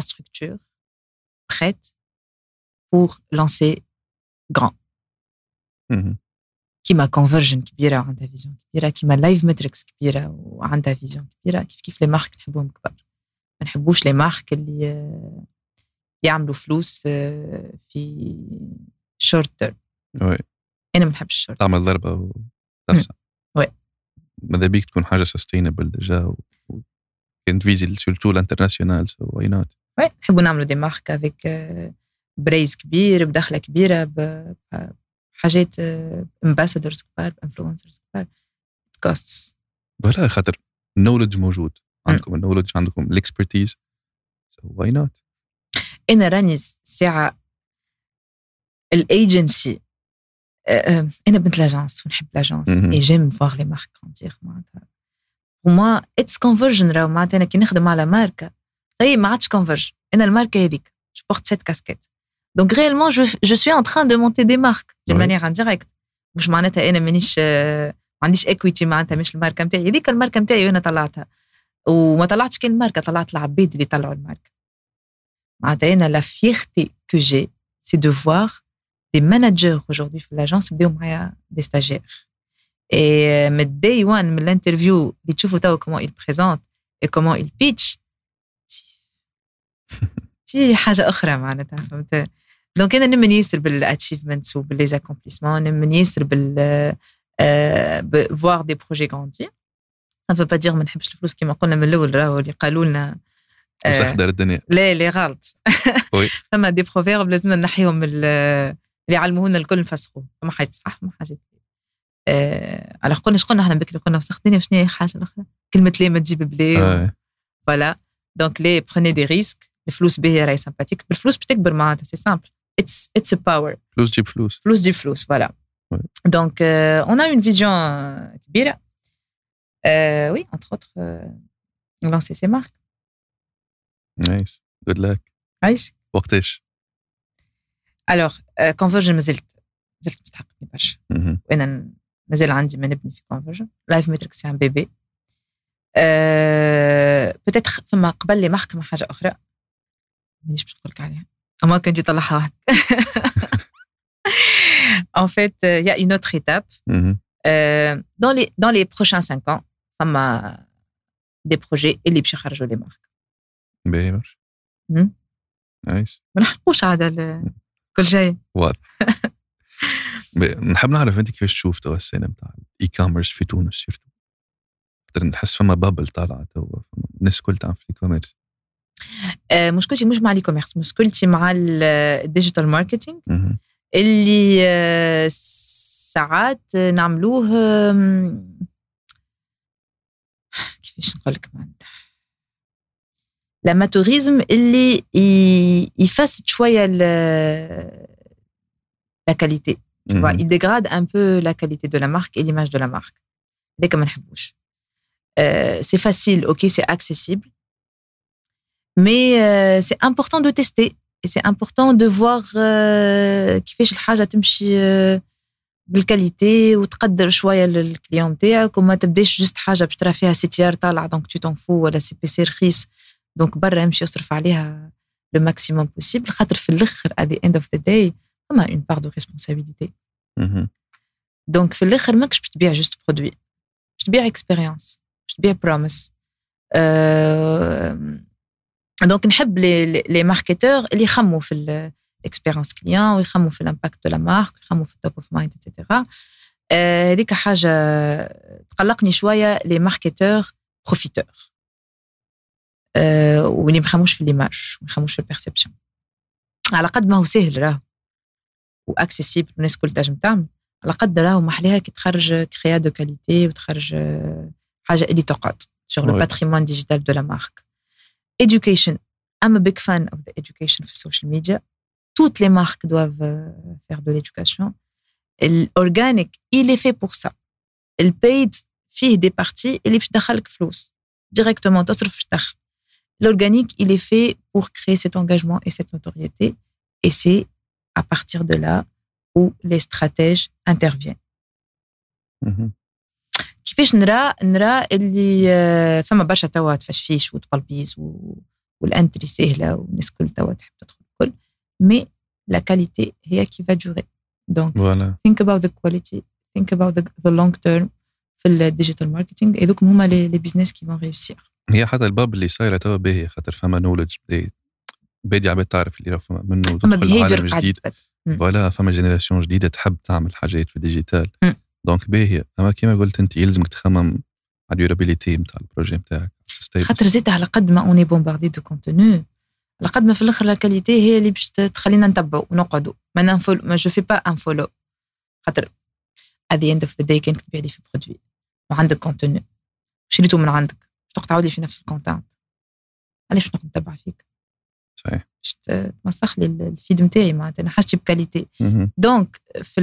l'infrastructure prête pour lancer grand. كيما كونفرجن كبيره وعندها فيزيون كبيره، كيما لايف ماتريكس كبيره وعندها فيزيون كبيره. كيف لي مارك نحبوهم كبار، ما نحبوش لي مارك اللي يعملوا فلوس في شورت تيرم. وي انا ما نحبش الشورت، تعمل ضربه وترسع. وي ماذا بيك تكون حاجه سستينبل ديجا كنت فيزي سورتو الانترناسيونال، سو واي نوت. وي نحبوا نعملوا دي مارك افيك بريز كبير، بدخله كبيره، بحاجات امباسادورز كبار، انفلونسرز كبار، كوستس. فوالا خاطر النولج موجود عندكم، النولج عندكم، الاكسبرتيز، سو واي نوت. انا راني ساعه الايجنسي، انا بنت لاجانس ونحب لاجانس اي جيم فواغ لي مارك كونتيغ معناتها وما اتس كونفرجن. راهو معناتها انا كي نخدم على ماركه طيب ما عادش كونفرج، انا الماركه هذيك جو بورت سيت كاسكيت، دونك ريالمون جو سوي ان تران دو مونتي دي مارك دو مانيير انديريكت. مش معناتها انا مانيش ما عنديش اكويتي، معناتها مش الماركه نتاعي هذيك، الماركه نتاعي وانا طلعتها، وما طلعتش كان الماركه، طلعت العباد اللي طلعوا الماركه. معناتها انا لا فيرتي كو جي سي دو فوار des managers aujourd'hui في l'agence بداو معايا des stagiaires. Et من day one من l'interview اللي تشوفوا توا comment il présente et comment il pitch تي حاجة أخرى معناتها، فهمت؟ دونك أنا نمن ياسر بالachievements وباللي accomplissements، نمن ياسر voir des projets grandir. ça ne veut pas dire ما نحبش الفلوس كما قلنا من الأول، راهو اللي قالوا لنا وسخ دار الدنيا. لا غلط. فما دي بروفيرب لازمنا نحيهم اللي علمونا الكل نفسخوه، فما حاجة صح ما حاجة. على قلنا احنا بكري قلنا وسخ الدنيا، وشنو هي حاجة الأخرى؟ كلمة ليه ما تجيب بلي. فوالا دونك ليه بروني دي ريسك، الفلوس باهية راهي سامباتيك، بالفلوس باش تكبر معناتها سي سامبل، اتس ا باور. فلوس تجيب فلوس، فلوس تجيب فلوس، فوالا. دونك اون ا اون فيزيون كبيرة. وي انتر اوتر لانسي سي مارك. نايس، جود لك. عايش. وقتاش؟ الوغ كونفرجن مازلت مستحقني برشا، وانا مازال عندي ما نبني في كونفرجن. لايف ماتريكس سي ان بيبي. بتاتر فما قبل لي محكمة حاجة أخرى مانيش باش نقولك عليها، أما كنت يطلعها واحد. En fait, il y a une autre étape. Dans les prochains 5 ans, فما des projets اللي باش يخرجوا لي مارك. باهي برشا. نايس. ما نحرقوش عاد كل شيء. واضح. نحب نعرف انت كيفاش تشوف توا السنه نتاع الاي كوميرس في تونس سيرتو. نحس فما بابل طالعه توا، الناس الكل تعمل في الاي كوميرس. مشكلتي مش مع الاي كوميرس، مشكلتي مع الديجيتال ماركتينج اللي ساعات نعملوه كيفاش نقول لك معناتها l'amatörisme اللي يفسد شوية la qualité. Tu vois, il dégrade un peu la qualité de la marque et l'image de la marque. هذاك ما نحبوش. C'est facile, ok, c'est accessible, mais c'est important de tester et c'est important de voir كيفاش الحاجة تمشي بالكاليتي وتقدر شوية للكليون تاعك، وما تبداش جست حاجة باش ترى فيها CTR طالعة دونك tu t'en fous، ولا سي بي سي رخيص دونك برا يمشي يصرف عليها le maximum possible، خاطر في الآخر at the end of the day فما une part de responsabilité. دونك في الآخر ماكش باش تبيع جست برودوي، باش تبيع experience، باش تبيع promise. دونك نحب les marketeurs اللي يخموا في l'expérience client ويخموا في l'impact de la marque ويخموا في top of mind etc. هذيك حاجة تقلقني شوية les marketeurs profiteurs واللي ما يخموش في l'image وما يخموش في الperception. على قد ما هو سهل راهو واكسيسيبل الناس كل تنجم تعمل، على قد راهو محليها كي تخرج كريا دو كاليتي وتخرج حاجة اللي تقعد sur le patrimoine digital de la marque. Education, I'm a big fan of the education في social media. Toutes les marques doivent faire de l'éducation. L'organique, il est fait pour ça. Le paid فيه des parties اللي باش تدخلك فلوس directement تصرف باش تدخل. L'organique, il est fait pour créer cet engagement et cette notoriété, et c'est à partir de là où les stratèges interviennent. كيفاش نرى اللي فما برشا توا تفشفيش وتقلبيز والانتري سهله والناس كل توا تحب تدخل الكل، مي لا كاليتي هي كي va durer. Donc, voilà. think about the quality, think about the long term في الديجيتال ماركتينغ. هذوك هما لي بيزنس كي فون ريوسير. هي حتى الباب اللي صايره توا باهي خاطر فما نولج بادي عباد تعرف اللي راه فما منه تدخل عالم جديد. فوالا فما جينيراسيون جديده تحب تعمل حاجات في الديجيتال. دونك باهي. اما كيما قلت انت يلزمك تخمم على الديورابيليتي نتاع البروجي نتاعك. خاطر زيت على قد ما اوني بومباردي دو كونتوني، على قد ما في الاخر لا كاليتي هي اللي باش تخلينا نتبعوا ونقعدوا. ما جو في با ان فولو. خاطر at the end of the day كانك تبيع لي في برودوي وعندك كونتوني شريته من عندك باش تقعد لي في نفس الكونتنت، علاش باش نقعد نتبع فيك؟ صحيح. باش تمسخ لي الفيد نتاعي معناتها انا حاجتي بكاليتي. دونك في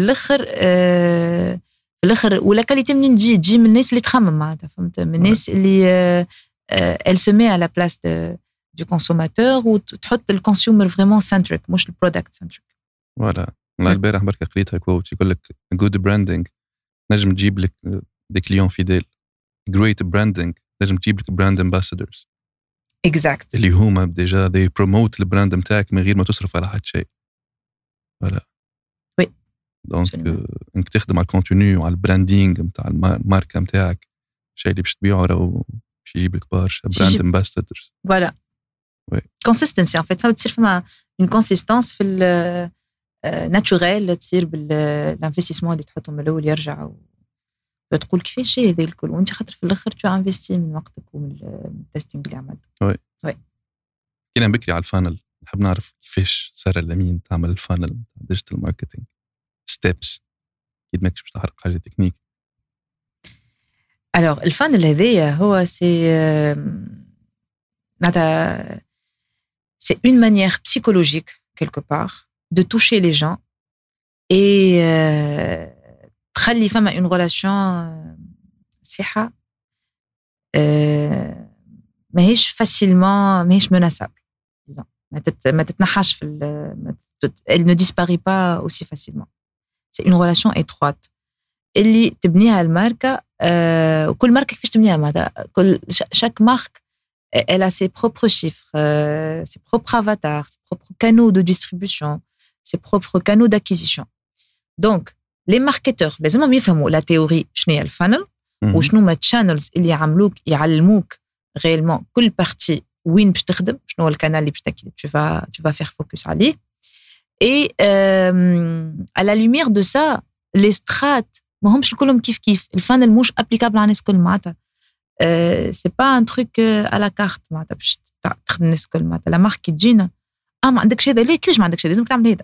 الاخر ولا كاليتي منين تجي من الناس اللي تخمم معناتها، فهمت؟ من الناس اللي elle se met à la place du consommateur وتحط الكونسيومر فريمون سنتريك مش البرودكت سنتريك. فوالا. والله البارح برك قريتها كوت يقول لك good branding نجم تجيب لك دي كليون فيديل. great branding نجم تجيب لك براند ambassadors. exact. اللي هما ديجا they promote البراند نتاعك من غير ما تصرف على حد شيء. فوالا. وي. دونك انك تخدم على الكونتوني وعلى البراندينغ نتاع الماركه نتاعك، الشيء اللي باش تبيعه راهو باش يجيب لك برشا براند ambassadors. فوالا. وي. consistency en fait ça تصير فما une consistance في ناتشورال تصير بالانفستيسمون اللي تحطهم من الاول يرجع وتقول كيفاش شيء هذا الكل وانت خاطر في الاخر تو انفستي من وقتك ومن التستينغ اللي عملته. وي. كنا بكري على الفانل نحب نعرف كيفاش سارة لمين تعمل الفانل ديجيتال ماركتينغ ستيبس. اكيد ماكش باش تحرق حاجه تكنيك. الوغ الفانل هذايا هو سي معناتها سي اون مانيير psychologique quelque part de toucher les gens et تخلي فما une relation صحيحة ماهيش facilement ماهيش menaçable. ما تتنحاش في elle ne disparaît pas aussi facilement. c'est une relation étroite اللي تبنيها الماركة. وكل ماركة كيفاش تبنيها معناتها كل chaque marque elle a ses propres chiffres, ses propres avatars, ses propres canaux de distribution, ses propres canaux d'acquisition. Donc, les marketeurs, لازمهم يفهموا la théorie شنو هي الفانل وشنو ما channels اللي يعلموك réellement كل partie وين باش تخدم، شنو هو الكانال اللي باش tu vas faire focus عليه. Et à la lumière de ça, les strates ما همش كلهم كيف الفانل مش applicable على الناس كل معناتها. c'est pas un truc à la carte معناتها باش تخدم الناس كل معناتها. لا مارك تجينا ما عندكش هذا، ليه كيفاش ما عندكش هذا؟ لازمك تعمل هذا.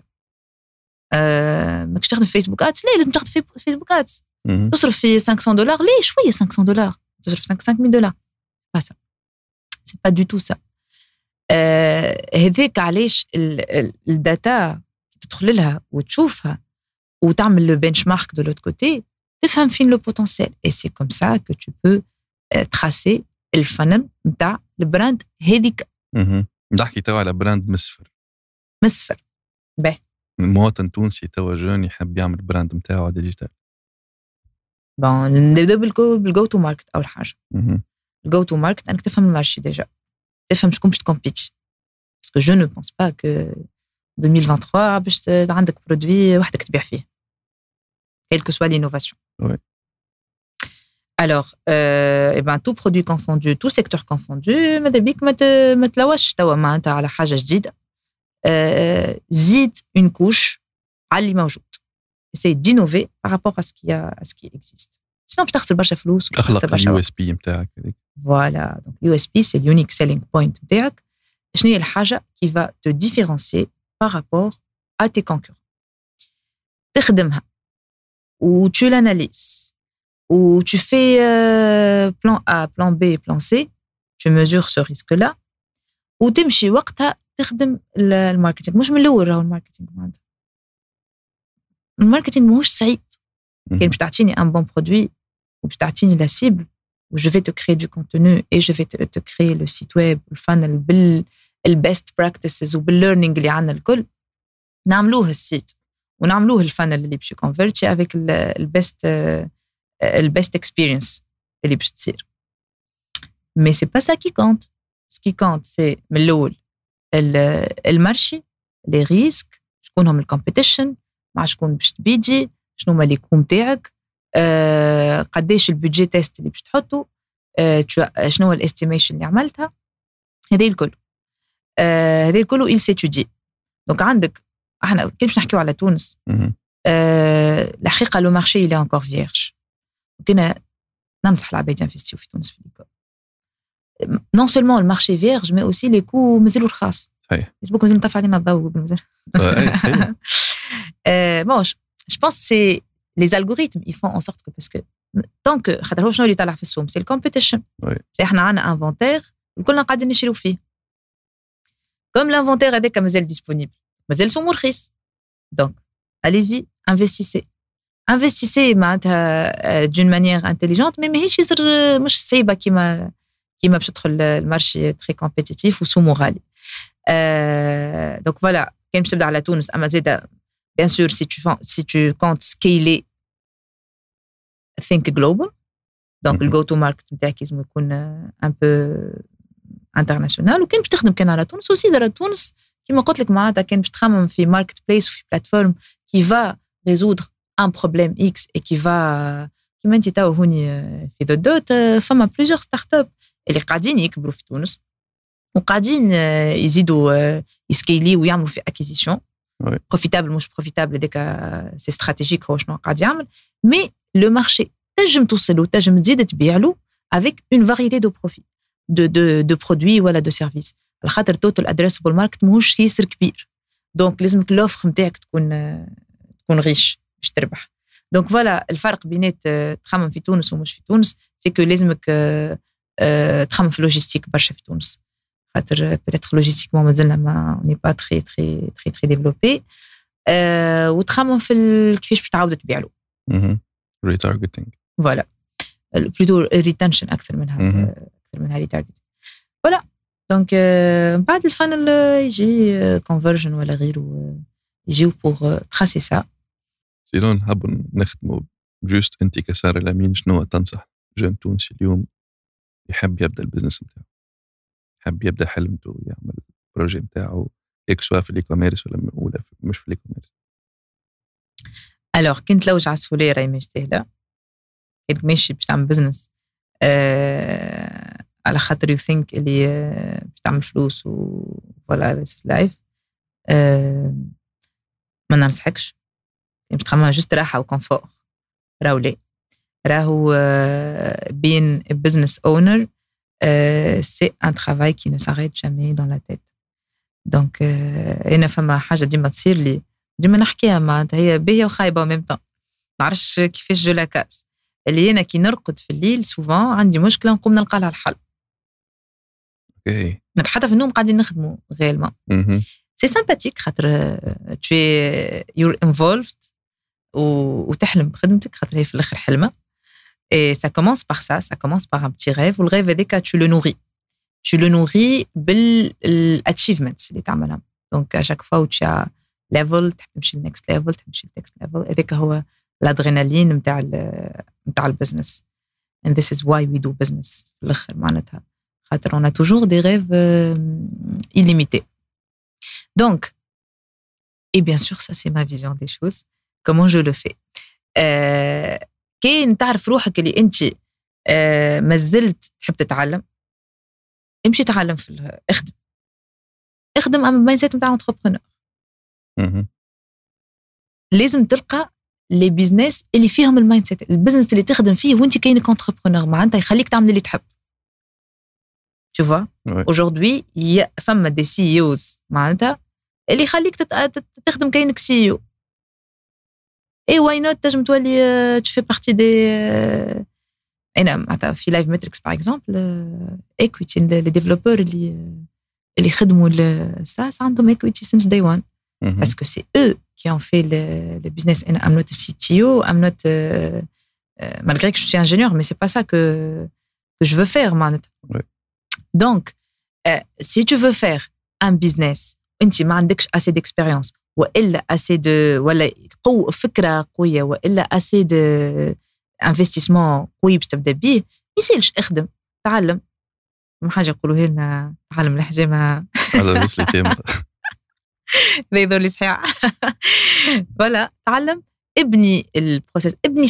ماكش تخدم فيسبوك ادز، ليه لازم تخدم في فيسبوك ادز؟ تصرف في $500 ليه شويه $500 تصرف $5,000 pas ça c'est pas du tout ça. هذاك علاش الداتا تدخل لها وتشوفها وتعمل لو بنش مارك دو لوت كوتي تفهم فين لو بوتنسيال et c'est comme ça que tu peux tracer الفنل نتاع البراند هذيك. نحكي توا على براند مسفر باهي مواطن تونسي توا جون يحب يعمل براند نتاعو ديجيتال. بون نبدا بالجو تو ماركت. اول حاجه الجو تو ماركت انك تفهم المارشي ديجا، تفهم شكون باش تكومبيتي باسكو جو نو بونس با كو 2023 باش عندك برودوي وحدك تبيع فيه quelle que soit l'innovation. Oui. Alors, tout produit confondu, tout secteur confondu, ماذا بيك ما تلوش توا معناتها على حاجة جديدة. زيد une couche على اللي موجود. Essaye d'innover par rapport à ce qui existe. Sinon باش تخسر برشا فلوس. أخلق ال USP نتاعك هذيك. Voilà, donc USP c'est l'unique selling point نتاعك. شنو هي الحاجة qui va te différencier par rapport à tes concurrents. تخدمها ou tu l'analyses ou tu fais plan A, plan B, plan C, tu mesures ce risque-là وتمشي وقتها تخدم الماركتينج. مش من الأول راهو الماركتينج معناتها الماركتينج ماهوش صعيب. كان باش تعطيني un bon produit وباش تعطيني la cible و je vais te créer du contenu et je vais te créer le site web الفانل بالbest practices وبالlearning اللي عندنا الكل نعملوه السيت ونعملوه الفانل اللي باش يكونفيرتي avec البست experience اللي باش تصير. mais c'est pas ça qui compte. ce qui compte c'est من الأول المارشي، les risques، شكون هم الكومبيتيشن، مع شكون باش تبيدي، شنو هما لي كوم تاعك، قداش البودجي تيست اللي باش تحطه، شنو هو الاستيميشن اللي عملتها، هذه الكل هذه الكل il s'étudie. دونك عندك احنا كي باش نحكيو على تونس الحقيقه لو مارشي il est encore vierge. كنا ننصح العباد ينفستيو في تونس في ليكول. Non seulement le marché vierge, mais aussi les coûts مازالوا رخاص. صحيح. Facebook مازال نطفى علينا الضوء مازال. Bon, je pense que c'est les algorithmes, ils font en sorte que parce que tant que خاطر هو شنو اللي طالع في السوق c'est le competition. c'est احنا عندنا inventaire وكلنا قاعدين نشريو فيه. Comme l'inventaire هذاك مازال disponible, مازال سومو رخيص. Donc, allez-y, investissez معناتها d'une manière intelligente, mais ماهيش يصير مش صعيبه كيما باش تدخل المارشي تري كومبيتيتيف وسومو غالي. دونك فوالا كاين باش تبدا على تونس اما زاده بيان سور si tu comptes scaler think global. دونك الجو تو ماركت نتاعك لازم يكون ان بو انترناسيونال. وكان باش تخدم كان على تونس وسي على تونس كيما قلت لك معناتها كان باش تخمم في ماركت بليس وفي بلاتفورم كي فا résoudre un problème X et qui va كيما انت تاو هوني في ذا دوت فما بليزيور ستارت اب اللي قاعدين يكبروا في تونس وقاعدين يزيدوا يسكيلي ويعملوا في اكيزيشن بروفيتابل مش بروفيتابل هذاك سي استراتيجيك هو شنو قاعد يعمل. مي لو مارشي تنجم توصلوا تنجم تزيد تبيع له avec une variété de profits de produits ولا de services على خاطر total addressable market ماهوش ياسر كبير. دونك لازمك لوفر نتاعك تكون ريش باش تربح. دونك فوالا الفرق بينات تخمم في تونس ومش في تونس سي كو لازمك تخمم في لوجيستيك برشا في تونس خاطر peut-être logistiquement مازلنا ما ني با تري تري تري تري ديفلوبي وتخمم في كيفاش باش تعاود تبيع له ريتارجيتنج فوالا بلوتو ريتنشن اكثر منها ريتارجيت. فوالا دونك بعد الفانل يجي كونفرجن ولا غيره يجيو بور تراسي سا. سيلون حاب نختموا جوست انت كسارة الأمين شنو تنصح جون تونسي اليوم يحب يبدا البزنس نتاعو يحب يبدا حلمته يعمل بروجي نتاعو سواء في الاي-كوميرس ولا مش في الاي-كوميرس؟ الوغ كنت لوج عسفوليه راهي مش سهله كنت ماشي باش تعمل بزنس على خاطر يو ثينك اللي باش تعمل فلوس ولا ذيس از لايف ما ننصحكش باش تخمم جست راحه وكونفور راهو being a business owner c'est un travail qui ne s'arrête jamais dans la tête. donc انا فما حاجه ديما تصير لي ديما نحكيها معناتها هي باهيه وخايبه وميم طون ما نعرفش كيفاش جو لا كاس اللي انا كي نرقد في الليل سوفون عندي مشكله نقوم نلقى لها الحل. اوكي حتى في النوم قاعدين نخدموا غيرما سي سامباتيك خاطر tu you're involved وتحلم بخدمتك خاطر هي في الاخر حلمه. Et ça commence par ça commence par un petit rêve. Le rêve هذاك tu le nourris بالاchievements اللي تعملها. Donc à chaque fois où tu as level تحب تمشي next level تمشي next level هذاك هو الادرينالين نتاع البزنس. And this is why we do business في الاخر معناتها خاطر on a toujours des rêves illimités. Donc et bien sûr ça c'est ma vision des choses comment je le fais. كي تعرف روحك اللي انت مازلت تحب تتعلم امشي تعلم في اخدم اما مايند سيت نتاع انتربرونور. لازم تلقى لي بيزنس اللي فيهم المايند سيت البزنس اللي تخدم فيه وانت كاينك انتربرونور معناتها يخليك تعمل اللي تحب. tu vois aujourd'hui فما دي سي اوز معناتها اللي يخليك تخدم كاينك سي او. Et why not تنجم تولي tu fais partie des أنا في Live Metrics par exemple equity les développeurs اللي خدموا SaaS عندهم equity since day one parce que c'est eux qui ont fait le business. I'm not a CTO, I'm not malgré que je suis ingénieur mais c'est pas ça que je veux faire معناتها. Donc si tu veux faire un business انت ما عندكش assez d'expérience وإلا assez de ولا فكرة قوية وإلا assez de investissement قوي باش تبدأ بيه يسالش اخدم تعلم ما حاجة يقولوها لنا تعلم الحجامة هذا بس لي تيم لا يضر لي صحيح. ولا تعلم، ابني البروسيس، ابني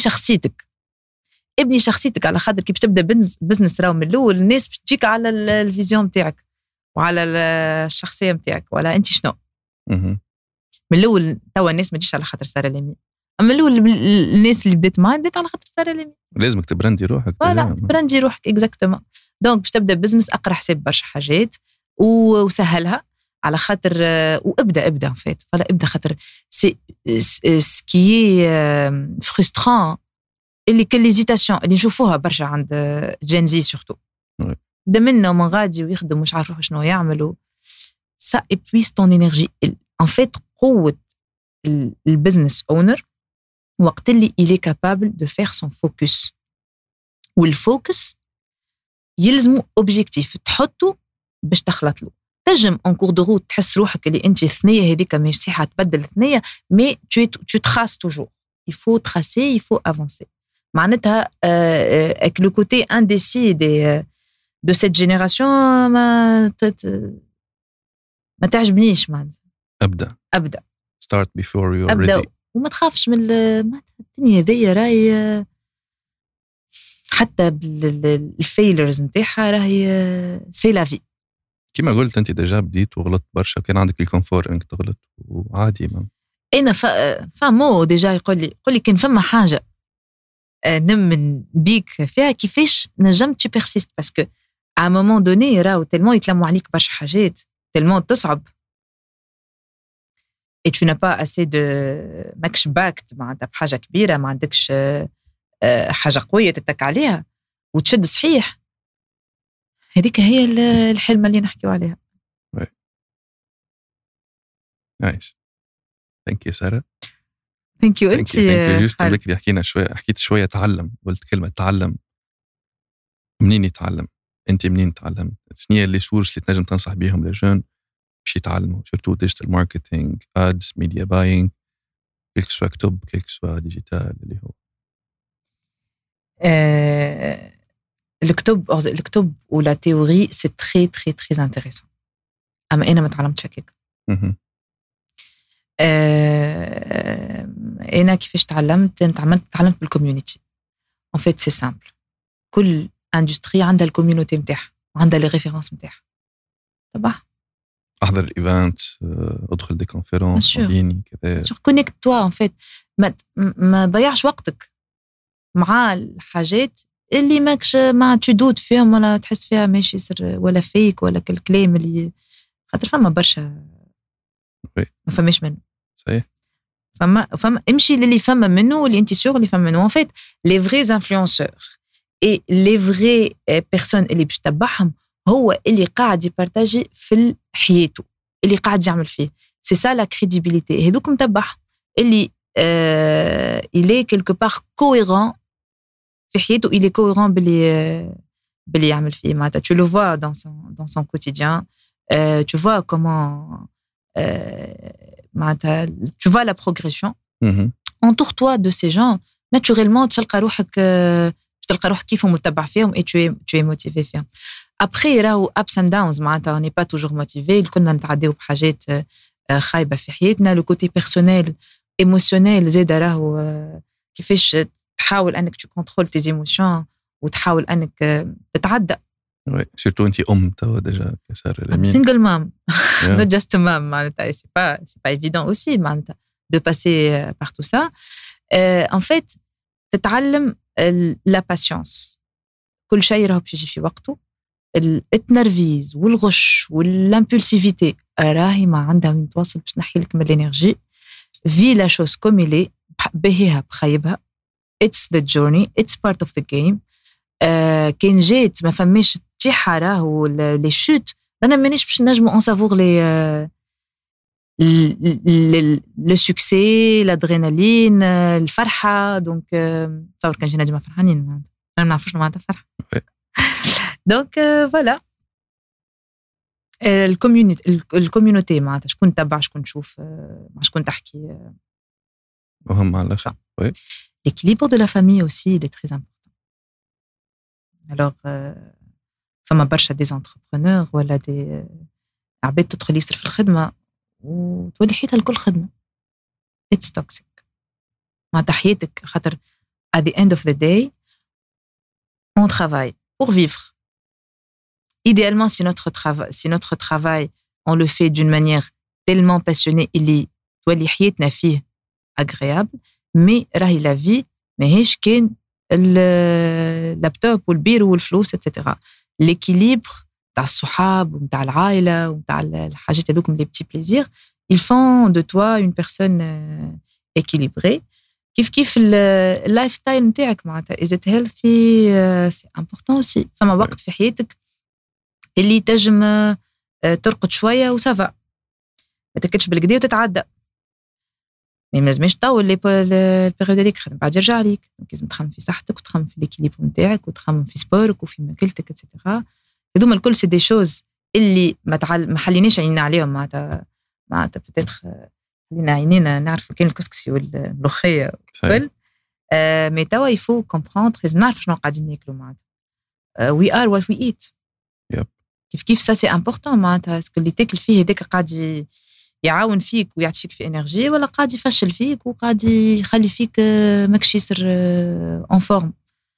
شخصيتك على خاطر كي باش تبدا بزنس راهو من الاول الناس باش تجيك على الفيزيون نتاعك وعلى الشخصيه نتاعك. ولا انت شنو من الاول؟ توا الناس ما تجيش على خاطر ساره لامي، اما الاول الناس اللي بدات معاه بدات على خاطر ساره لامي. لازمك تبراندي روحك. ولا تبراندي روحك اكزاكتومون. دونك باش تبدا بزنس اقرا حساب برشا حاجات وسهلها على خاطر وابدا فات. فلا ابدا خاطر سي سكي فرستران اللي كل ليزيتاسيون اللي نشوفوها برشا عند جينزي سورتو. بدا منه من غادي ويخدم مش عارف شنو يعملوا. سا ايبويس طون انرجي. ان فيت قوه البزنس اونر وقت اللي il est capable de faire son focus. والفوكس يلزمو اوبجيكتيف تحطه باش تخلط له. تجم ان كور دو روت تحس روحك اللي انت ثنيه هذيك مش صحيحه تبدل ثنيه، مي tu traces toujours. il faut tracer, il faut avancer. معناتها avec le côté indécis de cette génération ما تعجبنيش. معناتها ابدا start before you are أبدأ. ready. وما تخافش من الدنيا ذي راهي حتى بالفيلرز نتاعها راهي سي لا في. كما قلت انت ديجا بديت وغلطت برشا، كان عندك الكونفور انك تغلط وعادي. ما انا فمو ديجا يقول لي كان فما حاجه نمن بيك فيها كيفاش نجمت تو بيرسيست، باسكو ا مومون دوني راهو تلمون يتلموا عليك برشا حاجات تلمون تصعب et tu n'as pas assez de ماكش باكت معناتها بحاجه كبيره، ما عندكش حاجه قويه تتك عليها وتشد صحيح. هذيك هي الحلمه اللي نحكيو عليها. نايس. ثانك يو ساره. ثانك يو. انت جوست اللي حكيت شويه تعلم، قلت كلمه تعلم. منين يتعلم؟ انت منين تعلمت؟ شنو هي لي سورس اللي تنجم تنصح بيهم للجون باش يتعلموا سورتو ديجيتال ماركتينغ، ادز، ميديا باينغ، كيلك سوا كتب كيلك سوا ديجيتال اللي هو الكتب ولا تيوري سي تري تري تري انتريسون. اما انا ما تعلمتش هكاك. انا كيفاش تعلمت بالكوميونيتي. ان فيت سي سامبل، كل اندستري عندها الكوميونيتي نتاعها وعندها لي ريفيرونس نتاعها. طبعا احضر الايفنت، ادخل دي كونفيرونس ديني كذا، سور كونيكت توا. ان فيت ما ضيعش وقتك مع الحاجات اللي ماكش ما تدود فيهم ولا تحس فيها ماشي سر ولا فيك ولا كلام اللي خاطر فما برشا ما فماش منه. صحيح. فما امشي للي فما منه واللي انت سور اللي فما منه. ان فيت لي فري انفلونسور اي لي فري بيرسون اللي باش تتبعهم هو اللي قاعد يبارتاجي في حياته، اللي قاعد يعمل فيه. سي سا لا كريديبيليتي. هذوك متبعهم اللي il est quelque part cohérent في حياته، il est cohérent باللي يعمل فيه. معناتها tu le vois dans son quotidien, tu vois comment معناتها tu vois la progression. entoure-toi de ces gens naturellement تلقى روحك كيفهم متبع فيهم et tu es motivé فيهم. après راهو ups and downs معناتها on n'est pas toujours motivé. كنا نتعداو بحاجات خايبه في حياتنا. لو كوتي بيرسونيل ايموشنيل زاد راهو كيفاش تحاول انك تو كونترول تي ايموشن وتحاول انك تتعدى. وي سورتو انت توا ديجا كسار لامين سينجل مام نوت جاست مام. معناتها سي با ايفيدون اوسي معناتها دو باسي بار تو سا. ان فيت تتعلم لا باسيونس. كل شيء راهو باش يجي في وقته. التنرفيز والغش والامبولسيفيتي راهي ما عندها من توصل باش تنحي لك من الانرجي. في لا شوز كوم إلي بهيها بخيبها. it's the journey, it's part of the game. كان جات ما فماش تيحة راهو لي شوت رانا مانيش باش نجمو اون سافور لي لو سوكسي الادرينالين الفرحه. دونك تصور كان جينا ديما فرحانين ما نعرفوش معناتها فرحه. دونك فوالا الكوميونيتي معناتها شكون تبع شكون تشوف مع شكون تحكي مهم على الاخر. وي l'équilibre de la famille aussi il est très important. alors فما برشا des entrepreneurs ولا des عباد تدخل يصير في الخدمه وتولي حياتها الكل خدمة. It's toxic. معناتها حياتك خاطر at the end of the day on travaille pour vivre. Idéalement, si notre travail, on le fait d'une manière tellement passionnée, اللي تولي حياتنا فيه agréable, mais راهي la vie ماهيش كان اللابتوب والبيرو والفلوس etc. L'équilibre تاع الصحاب وتاع العائلة وتاع الحاجات هذوك les petits plaisirs, ils font de toi une personne équilibrée. كيف اللايف ستايل نتاعك معناتها is it healthy, c'est important aussi. فما وقت في حياتك اللي تجم ترقد شوية وسافا ما تكتش بالكدا وتتعدى. ما لازمش تطول البيريود هذيك خدم بعد يرجع ليك. لازم تخمم في صحتك وتخمم في ليكيليبر نتاعك وتخمم في سبورك وفي ماكلتك اتسيتيرا. هذوما الكل سي دي شوز اللي ما حليناش عينينا عليهم. معناتها بتاتخ خلينا عينينا نعرفوا كاين الكسكسي والملوخيه والكل. مي توا يفو كومبروندر لازم نعرفوا شنو قاعدين ناكلوا. معناتها وي ار وات وي ايت. كيف سا سي امبورطون. معناتها اسكو اللي تاكل فيه هذاك قاعد يعاون فيك ويعطيك في انرجي ولا قاعد يفشل فيك وقاعد يخلي فيك ماكش يصير اون فورم.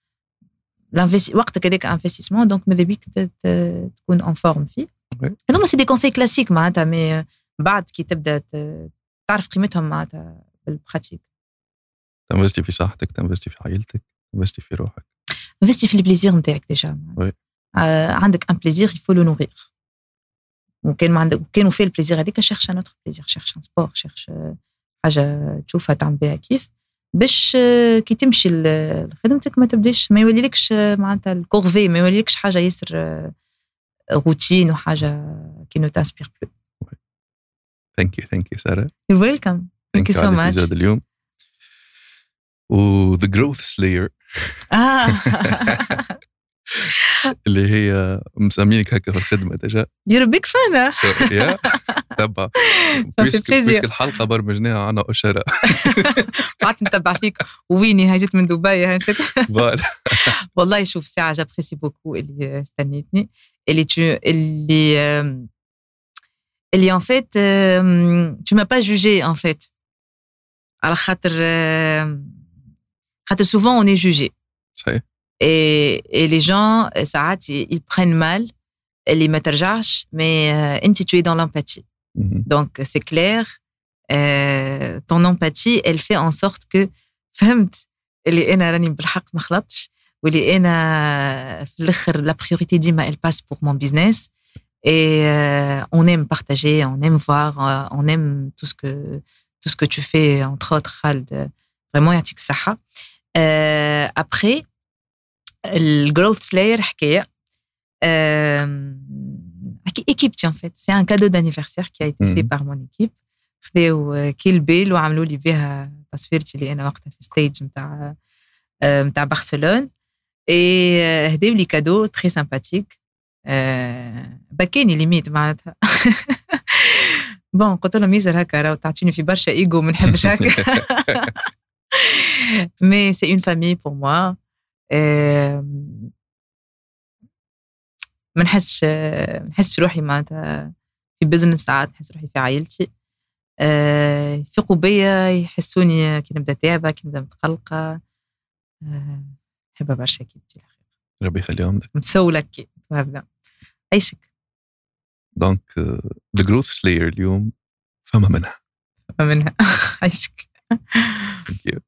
وقتك هذاك انفستيسمون دونك ماذا بيك تكون اون فورم فيه. هذوما سي دي كونساي كلاسيك معناتها. مي بعد كي تبدا تعرف قيمتهم معناتها بالبراتيك. تنفستي في صحتك، تنفستي في عائلتك، تنفستي في روحك، تنفستي في البليزير نتاعك ديجا. عندك ان بليزير يفو لو نوغير. وكان ما عندك كانوا فيه البليزير هذيك شيرش ان اوتر بليزير، شيرش ان سبور، شيرش حاجه تشوفها تعمل بها كيف باش كي تمشي لخدمتك ما تبداش ما يوليلكش معناتها الكورفي، ما يوليلكش حاجه ياسر روتين وحاجه كي نو تاسبير بلو. ثانك يو ساره. يو ويلكم. ثانك يو سو ماتش. اليوم و The Growth Slayer اللي هي مسمينك هكا في الخدمة ديجا. You're a big fan. يا تبع بيسك الحلقة برمجناها عنا أشارة. قعدت نتبع فيك ويني هاجت من دبي هاي والله شوف ساعة جابريسي بوكو اللي استنيتني اللي en fait tu m'as pas jugé en fait. على خاطر souvent on est jugé. صحيح. Et les gens ساعات ils prennent mal اللي ما ترجعش mais انت tu es dans l'empathie. Donc c'est clair, ton empathie elle fait en sorte que فهمت اللي انا راني بالحق ما خلطتش واللي انا في الاخر la priorité ديما elle passe pour mon business. Et on aime partager, on aime voir, on aime tout ce que tu fais, entre autres, Khald. Vraiment, يعطيك الصحة. Après, le Growth Slayer, حكاية. Équipe, en fait. C'est un cadeau d'anniversaire qui a été fait par mon équipe. خذوا كيل بيل وعملوا لي بها تصويرتي اللي أنا وقتها في ستيج متاع برشلونة. Et هداو لي كادو très sympathique. بكاني ليميت معناتها. بون قلت لهم يزر هكا راهو تعطيني في برشا ايجو ما نحبش هكا. مي سي اون فامي بور موا. ما نحسش روحي معناتها في بزنس، ساعات نحس روحي في عائلتي. يفيقوا بيا يحسوني كي نبدا تعبه كي نبدا متقلقه. نحبها برشا كيبتي الأخير. ربي يخليهم لك. متسولة كي وهذا عيشك. دونك The Growth Slayer اليوم فما منها عيشك. Thank you.